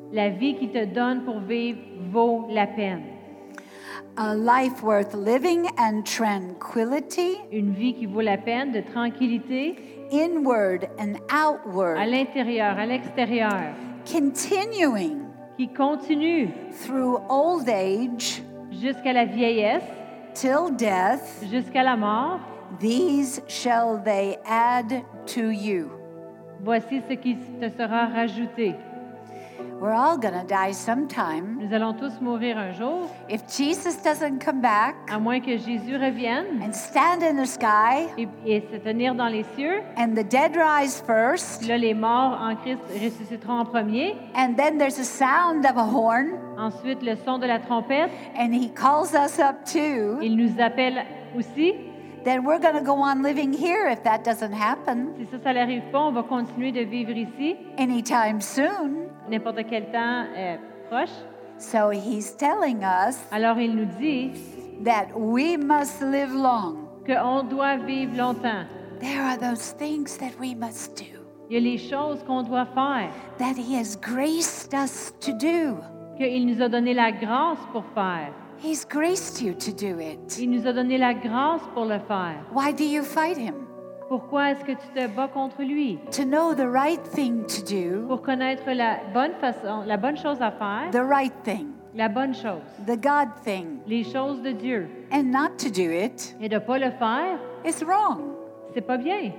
La vie qu'il te donne pour vivre vaut la peine. A life worth living and tranquility, Une vie qui vaut la peine de tranquillité inward and à outward, l'intérieur, à l'extérieur, continuing qui continue through old age jusqu'à la vieillesse, till death, jusqu'à la mort. these shall they add to you. Voici ce qui te sera rajouté. We're all going to die sometime. Nous allons tous mourir un jour, If Jesus doesn't come back à moins que Jésus revienne and stand in the sky et se tenir dans les cieux. and the dead rise first, Là, les morts en Christ ressusciteront en premier. and then there's a sound of a horn, Ensuite, le son de la trompette. and he calls us up too, Il nous appelle aussi. then we're going to go on living here if that doesn't happen Si ça n'arrive pas, on va continuer de vivre ici, anytime soon. n'importe quel temps proche. So he's telling us Alors, il nous dit that we must live long. qu'on doit vivre longtemps. There are those things that we must do, Il y a les choses qu'on doit faire, that he has graced us to do. qu'il nous a donné la grâce pour faire. He's graced you to do it. Il nous a donné la grâce pour le faire. Why do you fight him? Pourquoi est-ce que tu te bats contre lui? To know the right thing to do, Pour connaître la bonne façon, la bonne chose à faire, the right thing, la bonne chose, the God thing, les choses de Dieu. and not to do it Et de ne pas le faire, is wrong. c'est pas bien.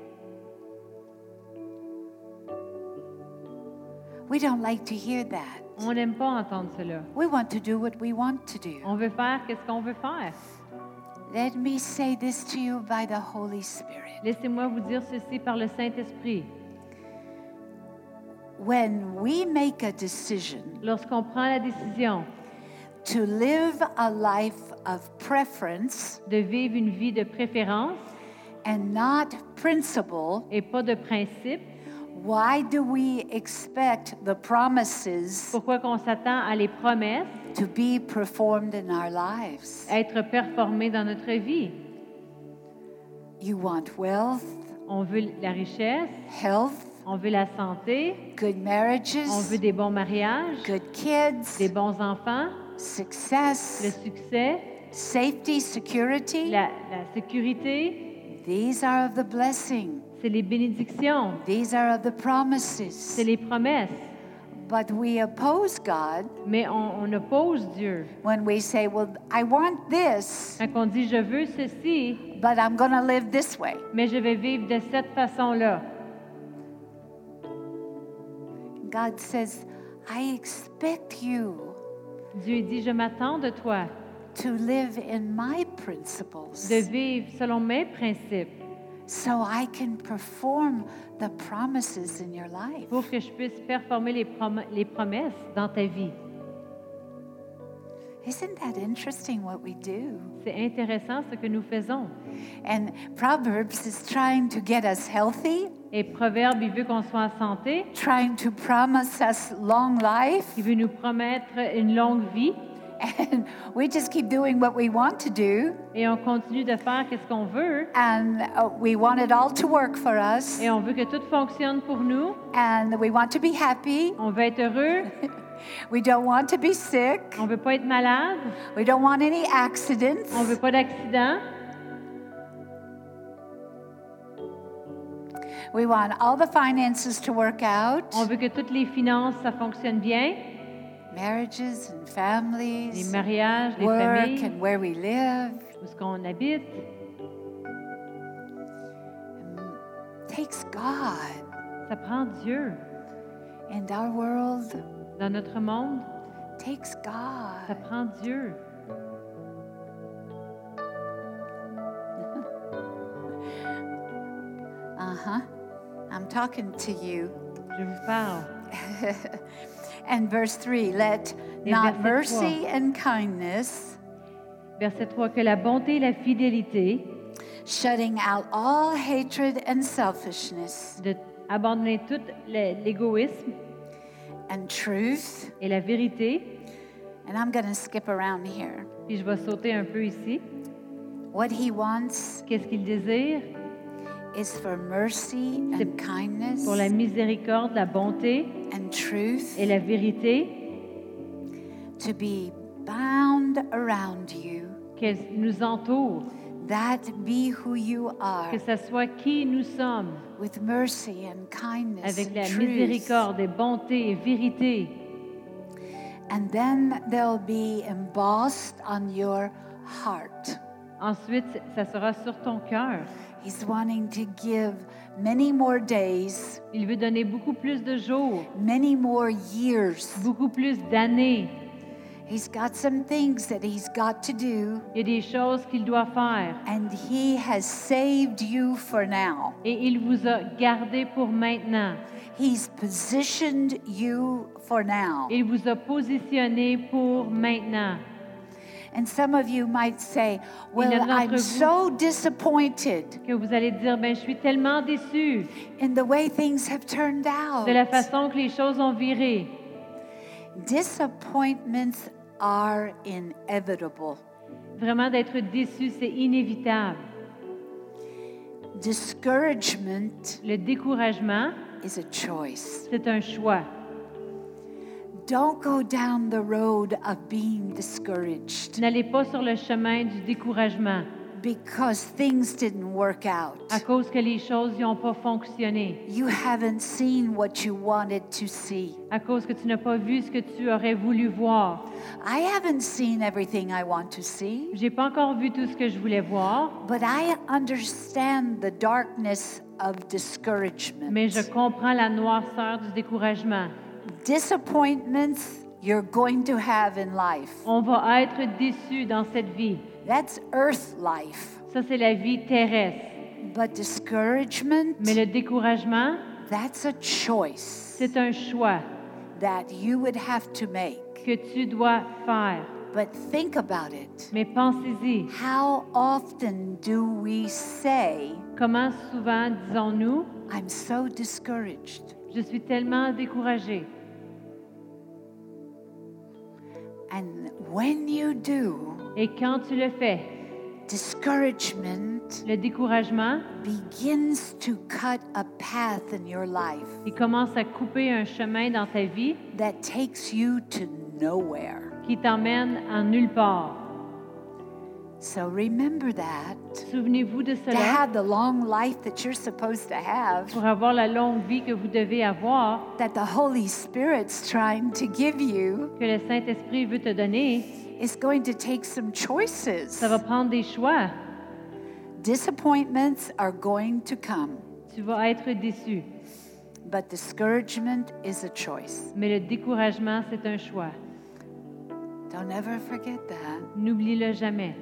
We don't like to hear that. On n'aime pas entendre cela. We want to do what we want to do. On veut faire qu'est-ce qu'on veut faire. Let me say this to you by the Holy Spirit. Laissez-moi vous dire ceci par le Saint-Esprit. When we make a decision Lorsqu'on prend la décision to live a life of preference de vivre une vie de préférence and not principle, et pas de principe, why do we expect the promises pourquoi qu'on s'attend à les promesses to be performed in our lives? être performées dans notre vie? You want wealth, On veut la richesse, health, on veut la santé, good marriages, on veut des bons mariages, good kids, des bons enfants, le success, succès, safety, security. la sécurité. These are of the blessing. C'est les bénédictions, These are of the c'est promises. les promesses. But we oppose God Mais on oppose Dieu. when we say, well, I want this, Quand on dit « je veux ceci, but I'm going to live this way. mais je vais vivre de cette façon-là ». God says, I expect you Dieu dit « je m'attends de toi to live in my principles de vivre selon mes principes so I can perform the promises in your life. pour que je puisse performer les promesses dans ta vie. » Isn't that interesting what we do? C'est intéressant ce que nous faisons. And Proverbs is trying to get us healthy, Et Proverbe, il veut qu'on soit en santé, trying to promise us long life, il veut nous promettre une longue vie, and we just keep doing what we want to do, et on continue de faire qu'est-ce qu'on veut, and we want it all to work for us, et on veut que tout fonctionne pour nous, and we want to be happy. on veut être heureux, We don't want to be sick. on veut pas être malade, We don't want any accidents. on veut pas d'accident, We want all the finances to work out, on veut que toutes les finances, ça fonctionne bien, marriages and les families, mariages, les work familles, and where we live. où est-ce qu'on habite. Takes God Ça prend Dieu. and our world. Dans notre monde, Takes ça God. prend Dieu. I'm talking to you. Je vous parle. And verse 3, let Et not verset mercy and kindness, Verset 3, que la bonté et la fidélité, shutting out all hatred and selfishness, de abandonner tout l'égoïsme and truth. et la vérité. And I'm going to skip around here. Puis je vais sauter un peu ici. What he wants Qu'est-ce qu'il désire? is for mercy and kindness pour la miséricorde, la bonté and truth et la vérité, to be bound around you, qu'elle nous entoure, that be who you are, que ce soit qui nous sommes, with mercy and kindness avec and la truth. miséricorde et bonté et vérité. And then they'll be embossed on your heart. Ensuite, ça sera sur ton cœur. He's wanting to give many more days, Il veut donner beaucoup plus de jours, many more years. beaucoup plus d'années. He's got some things that he's got to do, Il y a des choses qu'il doit faire. and he has saved you for now. Et il vous a gardé pour maintenant. He's positioned you for now. Il vous a positionné pour maintenant. And some of you might say, well, Il y en a d'entre I'm vous so disappointed que vous allez dire, ben, je suis tellement déçu in the way things have turned out. de la façon que les choses ont viré. Disappointments are inevitable. Vraiment, d'être déçu, c'est inévitable. Discouragement Le découragement, is a choice. c'est un choix. Don't go down the road of being discouraged N'allez pas sur le chemin du découragement because things didn't work out. à cause que les choses n'ont pas fonctionné, You haven't seen what you wanted to see. à cause que tu n'as pas vu ce que tu aurais voulu voir. I haven't seen everything I want to see, J'ai pas encore vu tout ce que je voulais voir, but I understand the darkness of discouragement. mais je comprends la noirceur du découragement. Disappointments you're going to have in life. On va être déçu dans cette vie. That's earth life. Ça, c'est la vie terrestre. But discouragement, Mais le découragement, that's a choice c'est un choix that you would have to make. que tu dois faire. But think about it. Mais pensez-y, How often do we say, comment souvent disons-nous, I'm so discouraged? je suis tellement découragé. And when you do, Et quand tu le fais, discouragement le découragement, begins to cut a path in your life il commence à couper un chemin dans ta vie that takes you to nowhere. qui t'emmène en nulle part. So remember that. Souvenez-vous de To cela have the long life that you're supposed to have, pour avoir la longue vie que vous devez avoir, that the Holy Spirit's trying to give you, que le Saint-Esprit veut te donner. is going to take some choices. Ça va prendre des choix. Disappointments are going to come, Tu vas être déçu. but discouragement is a choice. Mais le découragement, c'est un choix. Don't ever forget that. N'oublie-le jamais.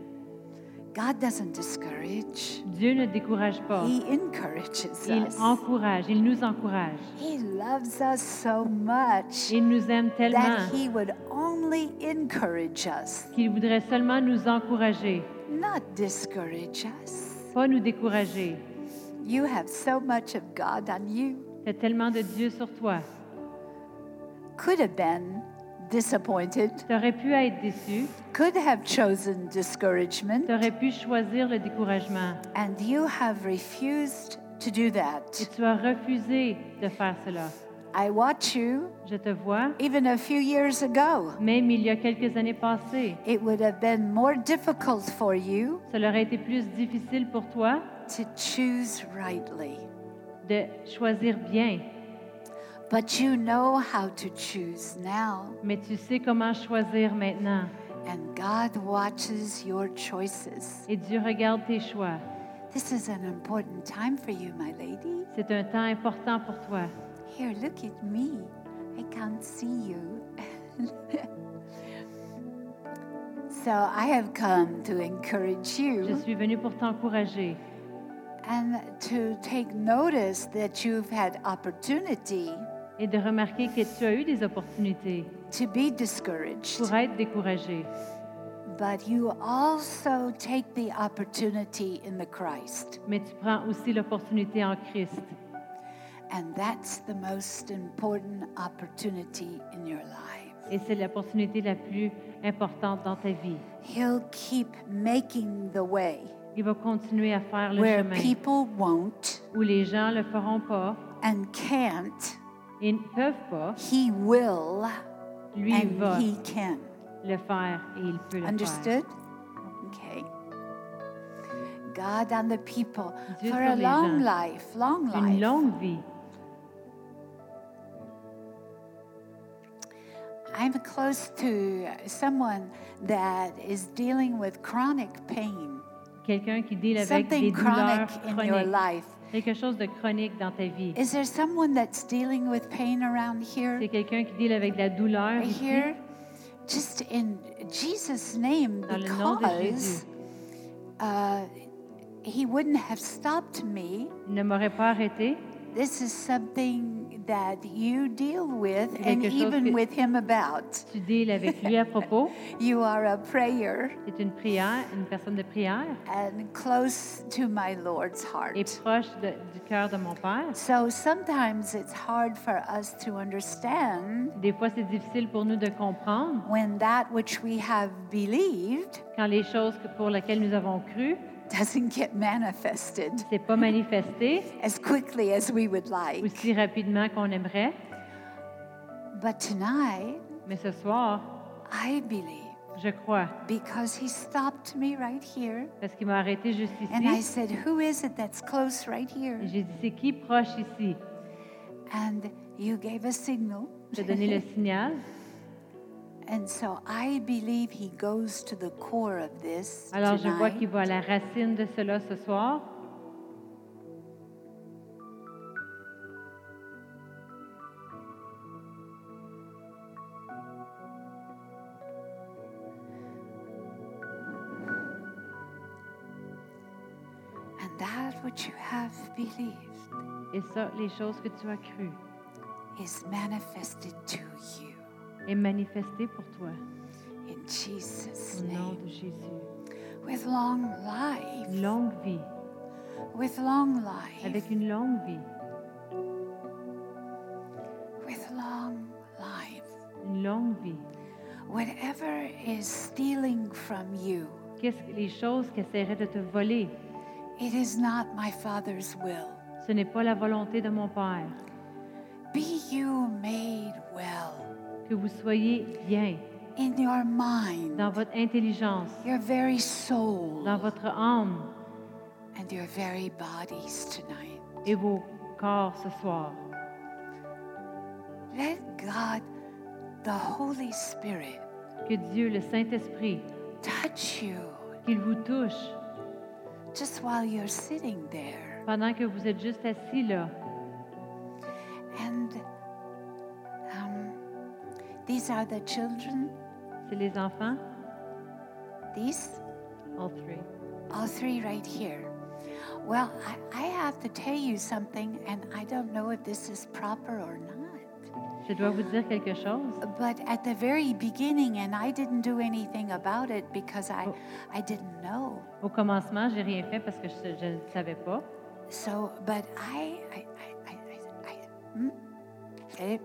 God doesn't discourage. Dieu ne décourage pas. He encourages Il us. encourage, il nous encourage. He loves us so much Il nous aime tellement that he would only encourage us, qu'il voudrait seulement nous encourager, not discourage us. pas nous décourager. You have so much of God on you. Tu as tellement de Dieu sur toi. Could have been disappointed, Tu aurais pu être déçu, could have chosen discouragement, tu aurais pu choisir le découragement. and you have refused to do Et that. tu as refusé de faire cela. I watch you Je te vois, even a few years ago. même il y a quelques années passées, It would have been more difficult for you ça aurait été plus difficile pour toi to choose rightly. de choisir bien. But you know how to choose now, Mais tu sais comment choisir maintenant. and God watches your choices. Et Dieu regarde tes choix. This is an important time for you, my lady. C'est un temps important pour toi. Here, look at me. I can't see you. So I have come to encourage Je you suis venue pour t'encourager and to take notice that you've had opportunity et de remarquer que tu as eu des opportunités to be discouraged, pour être découragé. but you also take the opportunity in the Christ. Mais tu prends aussi l'opportunité en Christ. And that's the most important opportunity in your life. Et c'est l'opportunité la plus importante dans ta vie. He'll keep making the way. Il va continuer à faire le where chemin people won't où les gens le feront pas and can't. et ne peuvent pas. He will Lui, il and va he can. le faire et il peut le faire. Understood? Okay. God on the people Dieu for sur a les long gens. life, long Une life. longue vie. I'm close to someone that is dealing with chronic pain, Quelqu'un qui deal avec des something chronic douleurs in your chroniques. life. Quelque chose de chronique dans ta vie. Is there someone that's dealing with pain around here? C'est quelqu'un qui deal avec de la douleur Right ici. here? Just in Jesus' name, Dans le nom de because Jésus. he wouldn't have stopped me. Il ne m'aurait pas arrêté. This is something that you deal with C'est and quelque chose even que- with him about. Tu deals avec lui à propos. You are a prayer C'est une prière, une personne de prière and close to my Lord's heart. et proche du cœur de mon Père. So sometimes it's hard for us to understand Des fois, c'est difficile pour nous de comprendre when that which we have believed quand les choses pour lesquelles nous avons cru, doesn't get manifested c'est pas manifesté as quickly as we would like. aussi rapidement qu'on aimerait. But tonight, Mais ce soir, I believe je crois, because he stopped me right here parce qu'il m'a arrêté juste and I ici. said, who is it that's close right here? Et j'ai dit, c'est qui proche ici? And you gave a signal. J'ai donné le signal. And so I believe he goes to the core of this Alors, je vois tonight. qu'il va à la racine de cela ce soir. And that which you have believed Et ça, les choses que tu as crues is manifested to you est manifesté pour toi. in Jesus' Au nom name. de Jésus. With long life, Une longue vie, with long life, avec une longue vie, with long life. une longue vie. Whatever is stealing from you, Qu'est-ce que les choses qui essaieraient de te voler? it is not my Father's will. Ce n'est pas la volonté de mon Père. Be you made well Que vous soyez bien in your mind, dans votre intelligence, your very soul, dans votre âme and your very bodies tonight. et vos corps ce soir. Let God, the Holy Spirit, Que Dieu, le Saint-Esprit, touch you qu'il vous touche just while you're sitting there. pendant que vous êtes juste assis là. And these are the children, C'est les enfants, these, all three. all three right here. Well, I have to tell you something, and I don't know if this is proper or not. Je dois vous dire quelque chose. But at the very beginning, and I didn't do anything about it because I didn't know. Au commencement, j'ai rien fait parce que je ne savais pas. So, but eh,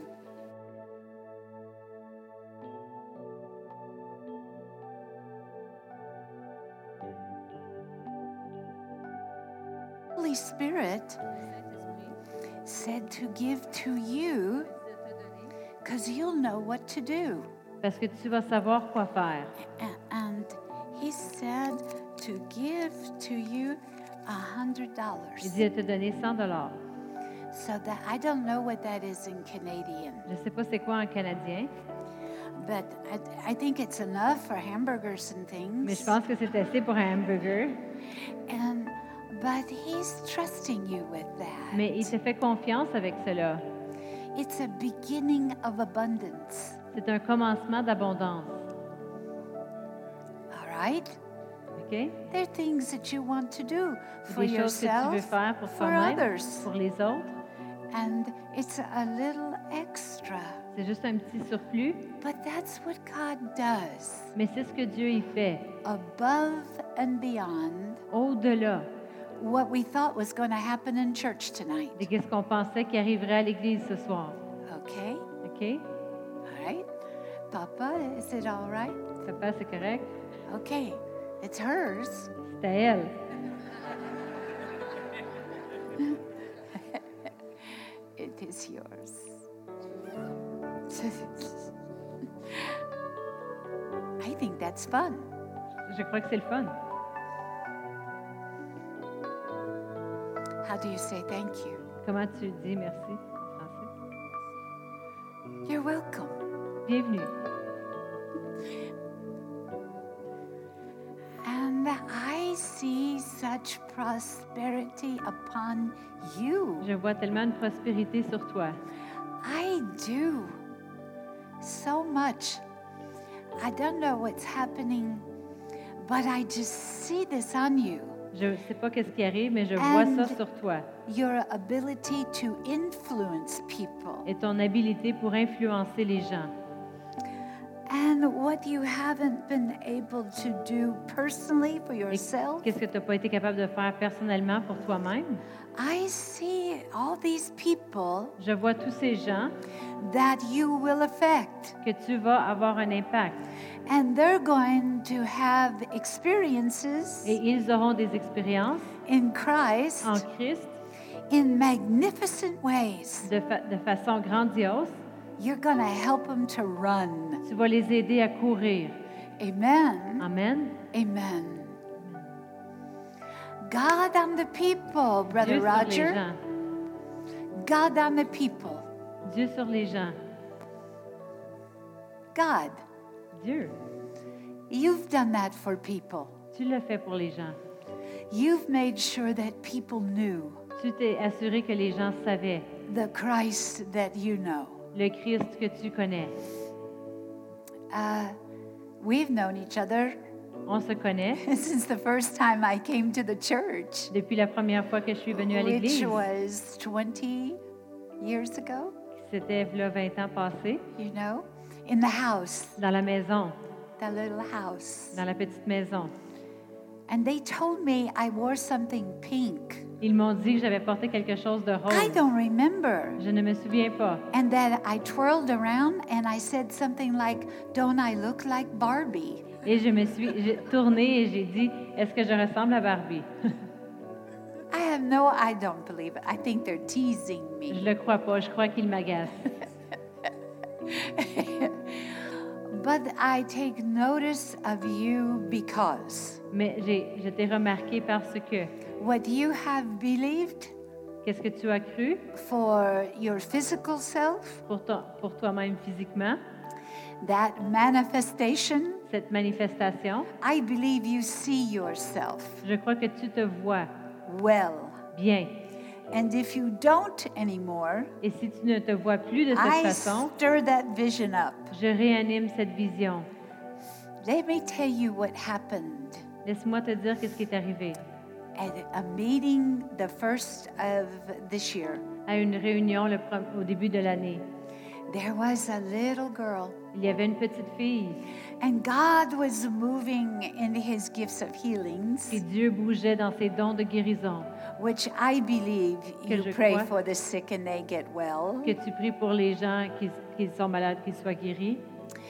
Holy Spirit said to give to you because you'll know what to do. Parce que tu vas savoir quoi faire. And he said to give to you Il $100. dit de te donner 100 So that I don't know what that is in Canadian, Je ne sais pas c'est quoi en canadien, but I think it's enough for hamburgers and mais je things. pense que c'est assez pour un hamburger. But he's trusting you with that. Mais il te fait confiance avec cela. It's a beginning of abundance. C'est un commencement d'abondance. All right? OK? There are things that you want to do for Des choses que tu veux yourself, faire pour for toi-même, others. pour les autres. And it's a little extra. C'est juste un petit surplus, But that's what God does. mais c'est ce que Dieu y fait. Above and beyond Au-delà what we thought was going to happen in church tonight. de ce qu'on pensait qui arriverait à l'Église ce soir. Okay? OK? All right? Papa, is it all right? Papa, c'est correct? Okay. It's hers. C'est à elle. It is yours. I think that's fun. Je crois que c'est le fun. How do you say thank you? Comment tu dis merci en français? You're welcome. Bienvenue. And I see such prosperity upon you. Je vois tellement de prospérité sur toi. I do. So much. I don't know what's happening, but I just see this on you. Je ne sais pas qu'est-ce qui arrive, mais je vois ça And- sur toi. Your ability to influence people. Et ton habilité pour influencer les gens. And what you haven't been able to do personally for Et yourself. qu'est-ce que tu n'as pas été capable de faire personnellement pour toi-même? I see all these people Je vois tous ces gens that you will affect. que tu vas avoir un impact. And they're going to have experiences Et ils auront des expériences in Christ en Christ in magnificent ways. de façon grandiose. You're going to help them to run. Tu vas les aider à courir. Amen. Amen. Amen. God on the people, Brother Dieu sur les Roger. gens. God on the people. Dieu sur les gens. God, Dieu. you've done that for people. Tu l'as fait pour les gens. You've made sure that people knew Tu t'es assuré que les gens savaient the Christ that you know. le Christ que tu connais. We've known each other On se connaît since the first time I came to the church, depuis la première fois que je suis venue à which l'Église. was 20 years ago, C'était là 20 ans passés, you know, in the house, dans la maison, the little house. dans la petite maison. And they told me I wore something pink. Ils m'ont dit que j'avais porté quelque chose de I rose. don't remember. Je ne me souviens pas. And then I twirled around and I said something like, "Don't I look like Barbie?" Et j'ai tourné et j'ai dit, est-ce que je ressemble à Barbie? I don't believe it. I think they're teasing Je me. le crois pas, je crois qu'il m'agace. But I take notice of you because Mais je t'ai remarqué parce que, what you have believed qu'est-ce que tu as cru for your physical self, pour toi-même physiquement, that manifestation, cette manifestation, I believe you see yourself je crois que tu te vois well. bien. And if you don't anymore, Et si tu ne te vois plus de cette I façon, stir that vision up. je réanime cette vision. Let me tell you what happened Laisse-moi te dire qu'est-ce qui est arrivé. at a meeting the first of this year. À une réunion au début de l'année, There was a little girl, il y avait une petite fille and God was moving in his gifts of healings, et Dieu bougeait dans ses dons de guérison. which I believe Que you je pray crois. for the sick and they get well. Que tu pries pour les gens qui sont malades, qu'ils soient guéris.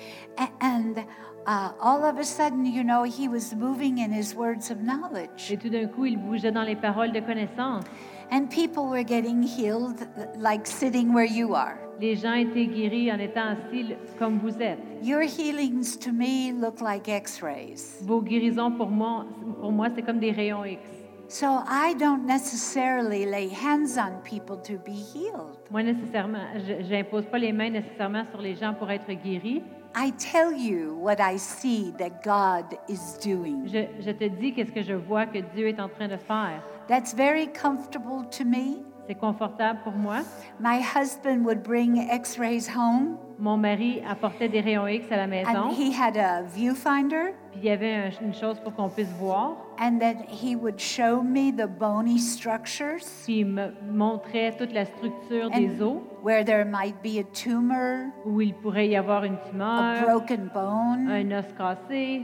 And all of a sudden, you know, he was moving in his words of knowledge. Et tout d'un coup, il bougeait dans les paroles de connaissance. And people were getting healed like sitting where you are. Les gens étaient guéris en étant assis comme vous êtes. Your healings to me look like x-rays. Vos guérisons, pour moi c'est comme des rayons X. So I don't necessarily lay hands on people to be healed. Moi, nécessairement, je n'impose pas les mains nécessairement sur les gens pour être guéris. I tell you what I see that God is doing. Je te dis qu'est-ce que je vois que Dieu est en train de faire. That's very comfortable to me. C'est confortable pour moi. My husband would bring x-rays home, Mon mari apportait des rayons X à la maison. and he had a viewfinder, Puis il y avait une chose pour qu'on puisse voir. and then he would show me the bony structures Puis il me montrait toute la structure des os, where there might be a tumor, où il pourrait y avoir une a tumeur, broken bone. un os cassé.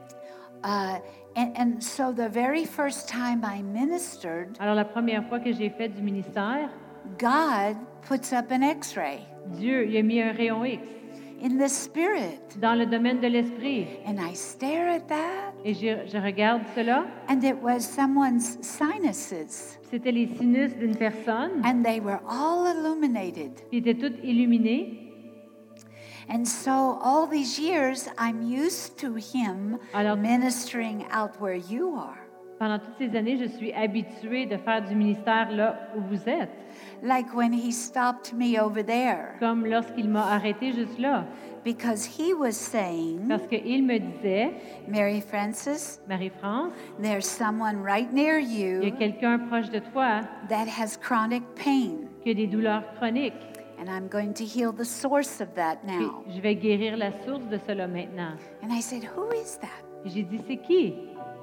And so the very first time I ministered, Alors la première fois que j'ai fait du ministère, God puts up an x-ray. Dieu il a mis un rayon X. in the spirit. dans le domaine de l'esprit. And I stare at that, Et je regarde cela. and it was someone's sinuses, C'était les sinus d'une personne, and they were all illuminated. qui étaient toutes illuminées. And so all these years, I'm used to him Alors- ministering out where you are. Pendant toutes ces années, je suis habituée de faire du ministère là où vous êtes, Like when he stopped me over there, comme lorsqu'il m'a arrêté juste là, because he was saying, parce qu'il me disait, Mary Frances, Marie-France, there's someone right near il y a you quelqu'un proche de toi that has chronic pain, qui a des douleurs chroniques. and I'm going to heal the source of that Puis now. je vais guérir la source de cela maintenant. And I said, who is that? Et j'ai dit, c'est qui?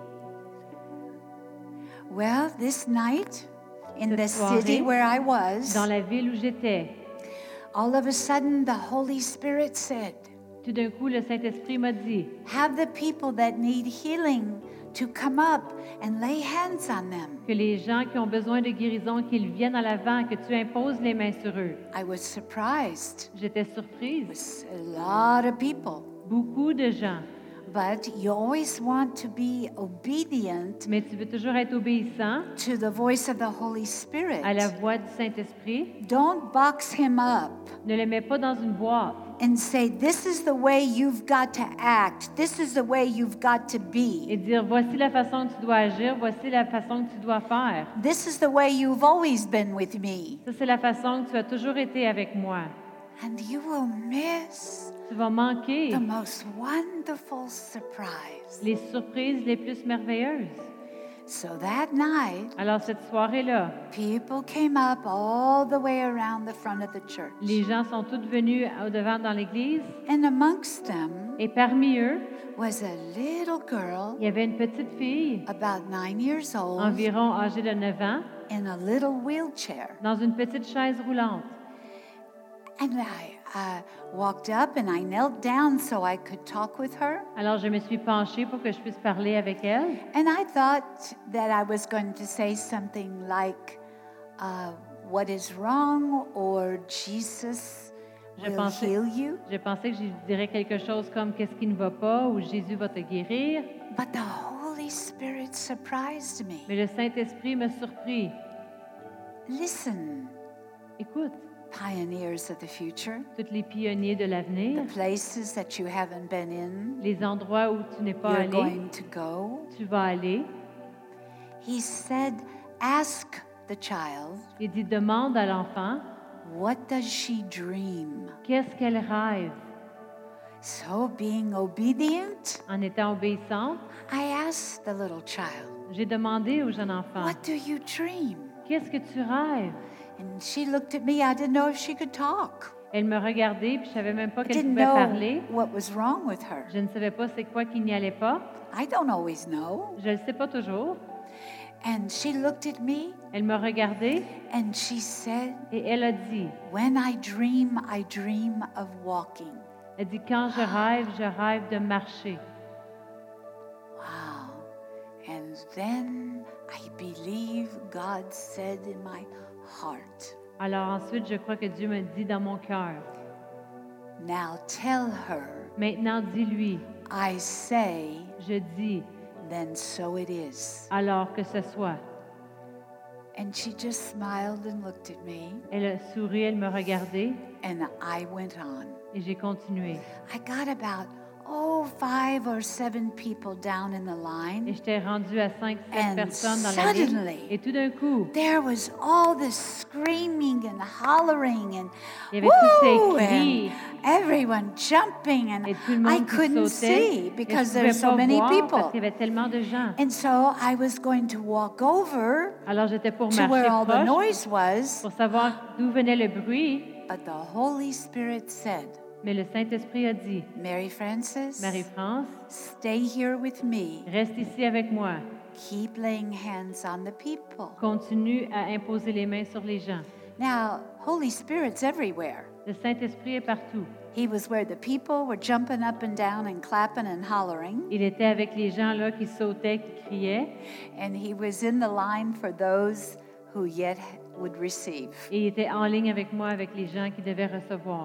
Well, this night in the Cette soirée, city where I was, Dans la ville où j'étais, all of a sudden the Holy Spirit said, tout d'un coup, le Saint-Esprit m'a dit, have the people that need healing to come up and lay hands on them. que les gens qui ont besoin de guérison, qu'ils viennent à l'avant, que tu imposes les mains sur eux. I was surprised. J'étais It surprise. was a lot of people. Beaucoup de gens. But you always want to be obedient Mais tu veux toujours être obéissant to the voice of the Holy Spirit. à la voix du Saint-Esprit. Don't box him up Ne le mets pas dans une boîte and say, this is the way you've got to act. This is the way you've got to be. et dire, voici la façon que tu dois agir, voici la façon que tu dois faire. This is the way you've always been with me. Ça, c'est la façon que tu as toujours été avec moi. And you will miss Tu vas manquer the most wonderful surprise. les surprises les plus merveilleuses. So that night, Alors, cette soirée-là, people came up all the way around the front of the church. les gens sont tous venus au-devant dans l'église And amongst them et parmi eux, was a little girl, il y avait une petite fille, about 9 years old, environ âgée de 9 ans, in a little wheelchair. dans une petite chaise roulante. And I walked up and I knelt down so I could talk with her. Alors, je me suis penchée pour que je puisse parler avec elle. And I thought that I was going to say something like, what is wrong, or Jesus Je will pensais- heal you. Je pensais que je dirais quelque chose comme qu'est-ce qui ne va pas ou Jésus va te guérir. But the Holy Spirit surprised me. Mais le Saint-Esprit m'a surpris. Listen, Écoute, pioneers of the future, tous les pionniers de l'avenir, the places that you haven't been in, les endroits où tu n'es pas you're allé, going to go. tu vas aller. He said, ask the child, Il dit, demande à l'enfant, what does she dream? qu'est-ce qu'elle rêve? So, being obedient, En étant obéissante, I asked the little child, j'ai demandé au jeune enfant, what do you dream? qu'est-ce que tu rêves? And she looked at me. I didn't know if she could talk. Elle me regardait, puis je savais même pas I qu'elle didn't pouvait know parler. what was wrong with her. Je ne savais pas c'est quoi qui n'y allait pas. I don't always know. Je ne le sais pas toujours. And she looked at me Elle m'a regardée and she said, et elle a dit, when I dream of walking. elle dit, quand je rêve de marcher. Wow. And then I believe God said in my heart, Alors ensuite, je crois que Dieu me dit dans mon cœur, now tell her, maintenant dis-lui, I say, je dis, then so it is. alors que ce soit. And she just smiled and looked at me, Elle a souri, elle me regardait and I went on. et j'ai continué. I got about 5 or 7 people down in the Et line. j'étais rendue à 5-7 And personnes dans la ligne. suddenly, Et tout d'un coup, There was all this screaming and hollering and il y avait tous ces woo, cris and everyone jumping, and et tout le I monde qui couldn't sautait. see Et because je there's pouvais so pas many voir people. parce qu'il y avait tellement de gens. And so I was going to walk over Alors j'étais pour to marcher where all the proche noise was, pour savoir d'où venait le bruit. but the Holy Spirit said, Mais le Saint-Esprit a dit, Mary Frances, Marie-France, stay here with me. reste ici avec moi. Keep laying hands on the people. Continue à imposer les mains sur les gens. Now, Holy Spirit's everywhere. Le Saint-Esprit est partout. He was where the people were jumping up and down and clapping and hollering, Il était avec les gens là qui sautaient, qui criaient. and he was in the line for those who yet would receive. Et il était en ligne avec moi, avec les gens qui devaient recevoir.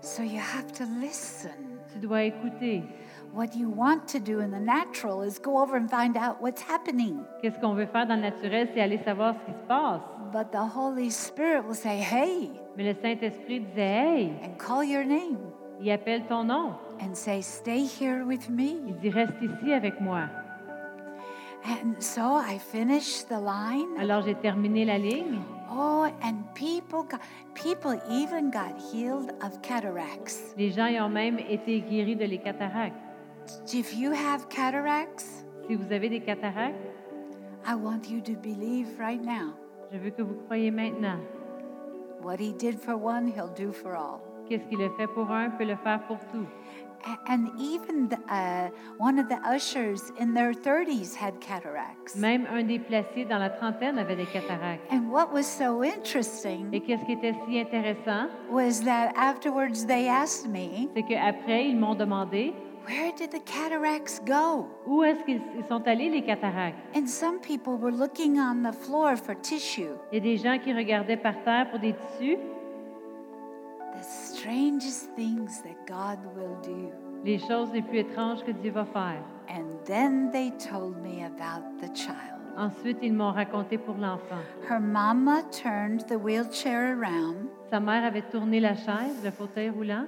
So you have to listen. Tu dois écouter. What you want to do in the natural is go over and find out what's happening. Qu'est-ce qu'on veut faire dans le naturel, c'est aller savoir ce qui se passe. But the Holy Spirit will say, hey, Mais le Saint-Esprit disait, hey, and call your name il appelle ton nom. and say, stay here with me. Il dit, reste ici avec moi. And so I finished the line. Alors, j'ai terminé la ligne. Oh, and people even got healed of cataracts. Les gens y ont même été guéris de les cataractes. If you have cataracts, Si vous avez des cataractes, I want you to believe right now. je veux que vous croyiez maintenant. What he did for one, he'll do for all. Qu'est-ce qu'il a fait pour un peut le faire pour tout. And even one of the ushers in their 30s had cataracts. Même un des placés dans la trentaine avait des cataractes. And what was so interesting Et qu'est-ce qui était si intéressant, was that afterwards they asked me, c'est qu'après, ils m'ont demandé where did the cataracts go? où est-ce qu'ils sont allés, les cataractes. And some people were looking on the floor for tissue. Il y a des gens qui regardaient par terre pour des tissus. The strangest things that God will do. Les choses les plus étranges que Dieu va faire. And then they told me about the child. Ensuite, ils m'ont raconté pour l'enfant. Her mama turned the wheelchair around. Sa mère avait tourné la chaise, le fauteuil roulant.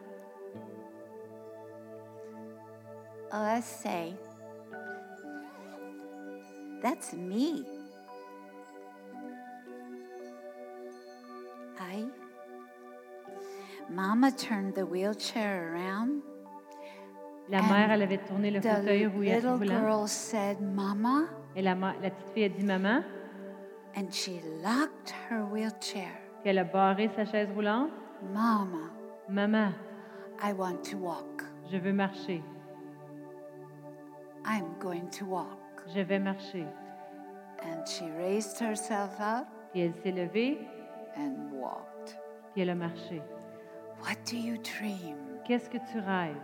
Let's say, that's me. Mama turned the wheelchair around. La mère, elle avait tourné le fauteuil The little roulant. girl said, Mama, Et la petite fille a dit maman, and she locked her wheelchair. puis elle a barré sa chaise roulante. Mama, Maman, I want to walk. je veux marcher. I'm going to walk. Je vais marcher. And she raised herself up Puis elle s'est levée, and walked. puis elle a marché. What do you dream? Qu'est-ce que tu rêves?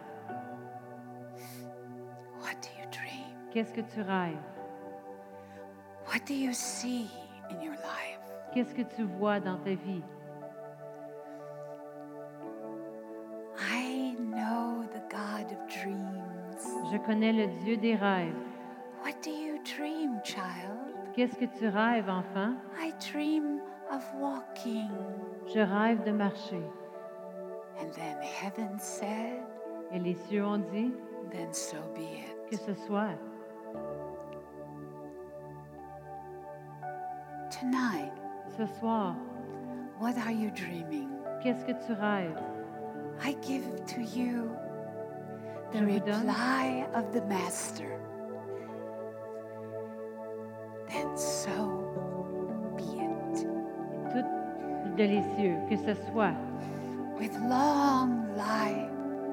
What do you dream? Qu'est-ce que tu rêves? What do you see in your life? Qu'est-ce que tu vois dans ta vie? I know the God of dreams. Je connais le Dieu des rêves. What do you dream, child? Qu'est-ce que tu rêves, enfant? I dream of walking. Je rêve de marcher. And then heaven said, Et les cieux ont dit then so be que it. ce soit. Tonight, Ce soir, what are you dreaming? qu'est-ce que tu rêves? I give to you the Je vous donne. reply of the Master. Then so be it. Tout de les cieux, que ce soit. With long life,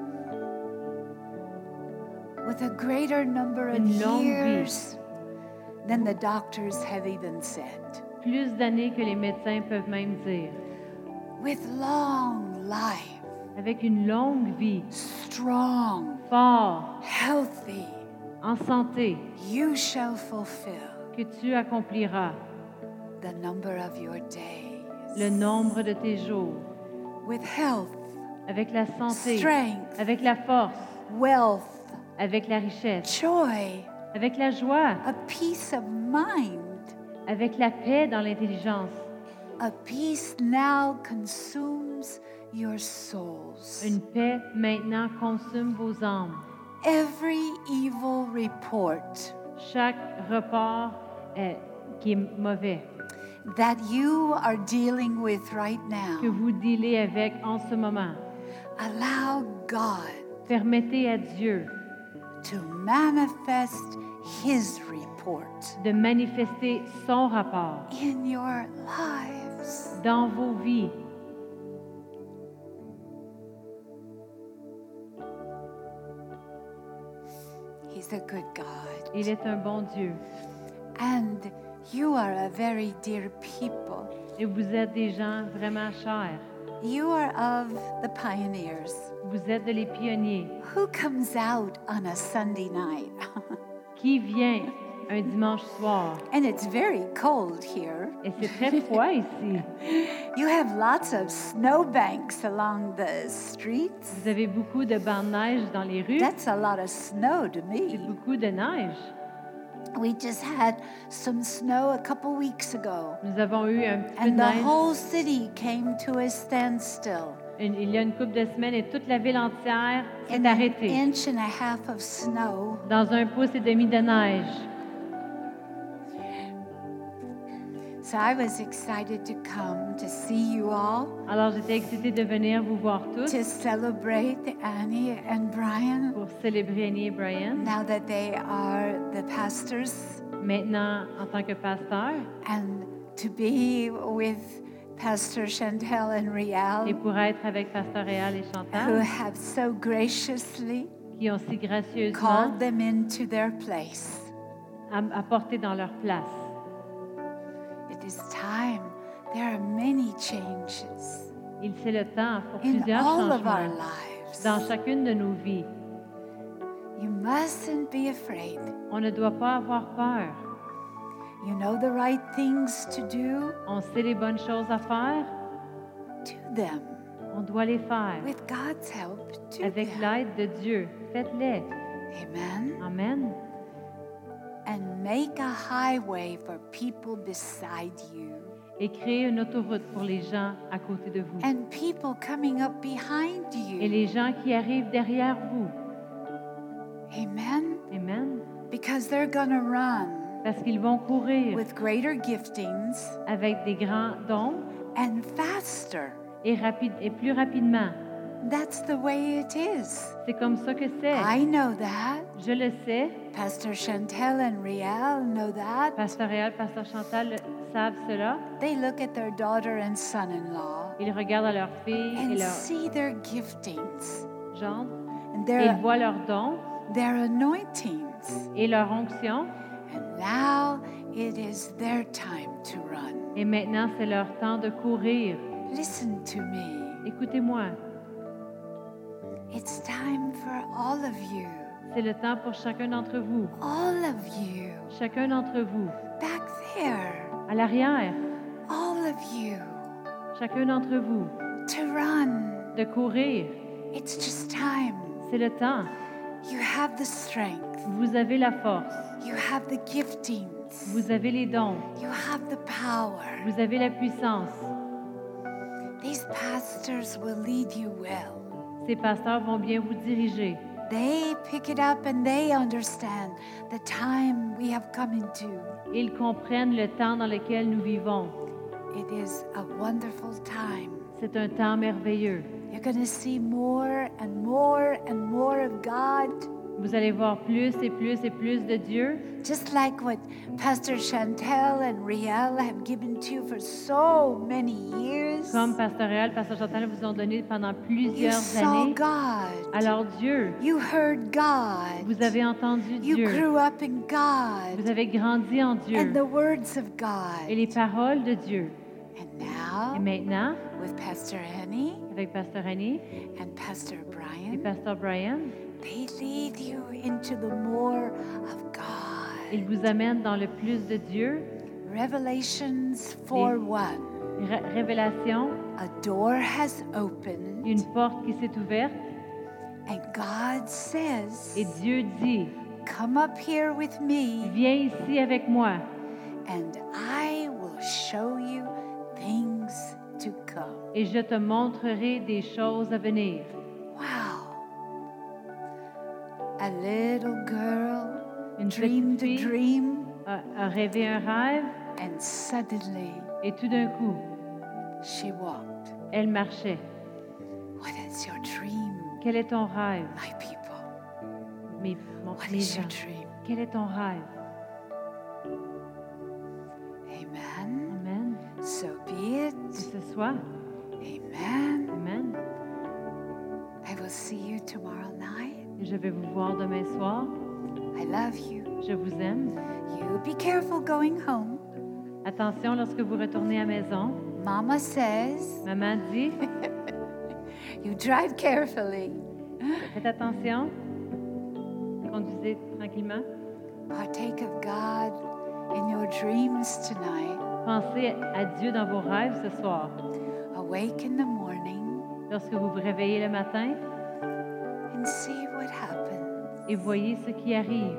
with a greater number of Une longue vie. years than the doctors have even said. Plus d'années que les médecins peuvent même dire. With long life, Avec une longue vie, strong, fort, healthy, en santé, you shall fulfill que tu accompliras the number of your days. le nombre de tes jours. With health, Avec la santé, strength, avec la force, wealth, avec la richesse, joy, avec la joie, a peace of mind, avec la paix dans l'intelligence. a peace now consumes your souls. Une paix maintenant consume vos âmes. Every evil report Chaque report qui est mauvais, that you are dealing with right que now, vous dealez avec en ce moment, allow God permettez à Dieu to manifest His report de manifester son rapport in your lives. dans vos vies. He's a good God. Il est un bon Dieu. And you are a very dear people. Et vous êtes des gens vraiment chers. You are of the pioneers. Vous êtes les pionniers. Who comes out on a Sunday night? Qui vient un dimanche soir? And it's very cold here. Et c'est très froid ici. You have lots of snowbanks along the streets. Vous avez beaucoup de bancs de neige dans les rues. That's a lot of snow to C'est me. beaucoup de neige. We just had some snow a couple weeks ago, Nous avons eu un petit peu and de the neige whole city came to a standstill. il y a une couple de semaines et toute la ville entière In s'est an arrêtée inch and a half of snow. dans 1,5 pouce de neige. So I was excited to come to see you all, Alors, j'étais excitée de venir vous voir tous to celebrate Annie and Brian pour célébrer Annie et Brian. now that they are the pastors, Maintenant, en tant que pasteur, and to be with Pastor Chantel and et Rial, pour être avec Pasteur Réal et who Chantal, have so graciously qui ont si gracieusement called them into their place. apporté dans leur place. It is time. There are many changes C'est le temps pour in plusieurs all of our changements lives. dans chacune de nos vies. You mustn't be afraid. On ne doit pas avoir peur. You know the right things to do. On sait les bonnes choses à faire. Do them. On doit les faire. With God's help, do Avec them. l'aide de Dieu, faites-les. Amen. Amen. And make a highway for people beside you. Et créez une autoroute pour les gens à côté de vous. And people coming up behind Et you. les gens qui arrivent derrière vous. Amen. Amen. Because they're going to run Parce qu'ils vont courir with greater giftings avec des grands dons and faster. et plus rapidement. That's the way it is. C'est comme ça que c'est. I know that. Je le sais. Pastor Chantel and Rial know that. Pasteur Réal, Pasteur Chantal savent cela. They look at their daughter and son-in-law Ils regardent à leurs filles et and leurs see their giftings gendres and et ils voient leurs dons their anointings. et leur onction. And now it is their time to run. Et maintenant, c'est leur temps de courir. Listen to me. Écoutez-moi, It's time for all of you. c'est le temps pour chacun d'entre vous. All of you. Chacun d'entre vous. Back there. À l'arrière, All of you. chacun d'entre vous. To run. De courir. It's just time. C'est le temps. You have the strength. Vous avez la force. You have the giftings. Vous avez les dons. You have the power. Vous avez la puissance. These pastors will lead you well. Ces pasteurs vont bien vous diriger. They pick it up and they understand the time we have come into. Ils comprennent le temps dans lequel nous vivons. It is a wonderful time. C'est un temps merveilleux. You're going to see more and more and more of God, Vous allez voir plus et plus et plus de Dieu, just like what Pastor Chantel and Riel have given to you for so many years. comme Pasteur Réal, Pasteur Chantal vous ont donné pendant You plusieurs saw années. God. Alors Dieu, You heard God. vous avez entendu You Dieu. grew up in God Vous avez grandi en Dieu and the words of et God. les paroles de Dieu. And Et now, maintenant, with Pastor Annie avec Pasteur Annie and Pastor et Brian, Pasteur Brian, they lead you into the more of ils God. vous amènent dans le plus de Dieu. Revelations 4:1. Révélation, A door has opened, une porte qui s'est ouverte and God says, et Dieu dit, "Come up here with me, viens ici avec moi and I will show you things to come." et je te montrerai des choses à venir. Wow. A little girl Une dreamed petite a fille dream, a rêvé un rêve and suddenly et tout d'un coup, she walked. elle marchait. What is your dream, Quel est ton rêve, my people? What mes is your gens? dream? Quel est ton rêve? Amen. Amen. So be it. Que ce soit. Amen. Amen. I will see you tomorrow night. Et je vais vous voir demain soir. I love you. Je vous aime. You be careful going home. Attention lorsque vous retournez à la maison. Mama says Maman dit, you drive carefully. faites attention. Conduisez tranquillement. Partake of God in your dreams tonight. Pensez à Dieu dans vos rêves ce soir. wake in the morning lorsque vous vous réveillez le matin and see what happens. et voyez ce qui arrive.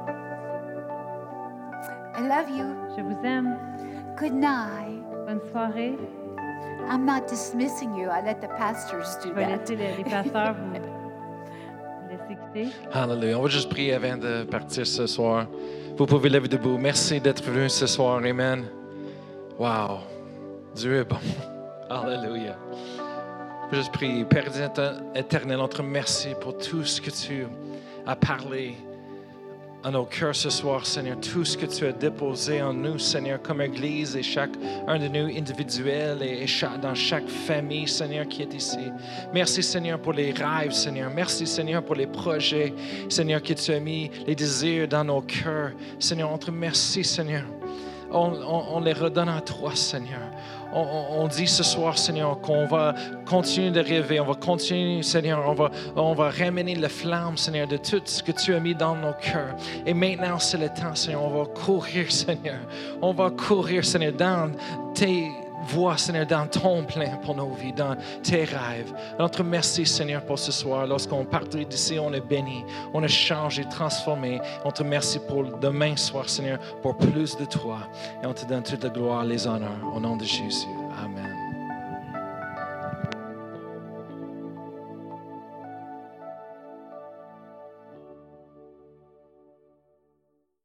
I love you. Je vous aime. Good night. Bonne soirée. I'm not dismissing you. I let the pastors do Je vais that. laisser les pasteurs vous laisser quitter. Hallelujah. On va juste prier avant de partir ce soir. Vous pouvez lever debout. Merci d'être venu ce soir. Amen. Wow. Dieu est bon. Hallelujah. Je vais juste prier. Père éternel, on te remercie pour tout ce que tu as parlé à nos cœurs ce soir, Seigneur. Tout ce que tu as déposé en nous, Seigneur, comme Église et chacun de nous individuels et dans chaque famille, Seigneur, qui est ici. Merci, Seigneur, pour les rêves, Seigneur. Merci, Seigneur, pour les projets, Seigneur, que tu as mis, les désirs dans nos cœurs. Seigneur, on te remercie, Seigneur. On les redonne à toi, Seigneur. On dit ce soir, Seigneur, qu'on va continuer de rêver. On va continuer, Seigneur. On va ramener la flamme, Seigneur, de tout ce que tu as mis dans nos cœurs. Et maintenant, c'est le temps, Seigneur. On va courir, Seigneur. On va courir, Seigneur, dans tes voies, Seigneur, dans ton plein pour nos vies, dans tes rêves. Notre merci, Seigneur, pour ce soir. Lorsqu'on part d'ici, on est béni, on est changé, transformé. On te remercie pour demain soir, Seigneur, pour plus de toi. Et on te donne toute la gloire, les honneurs. Au nom de Jésus. Amen.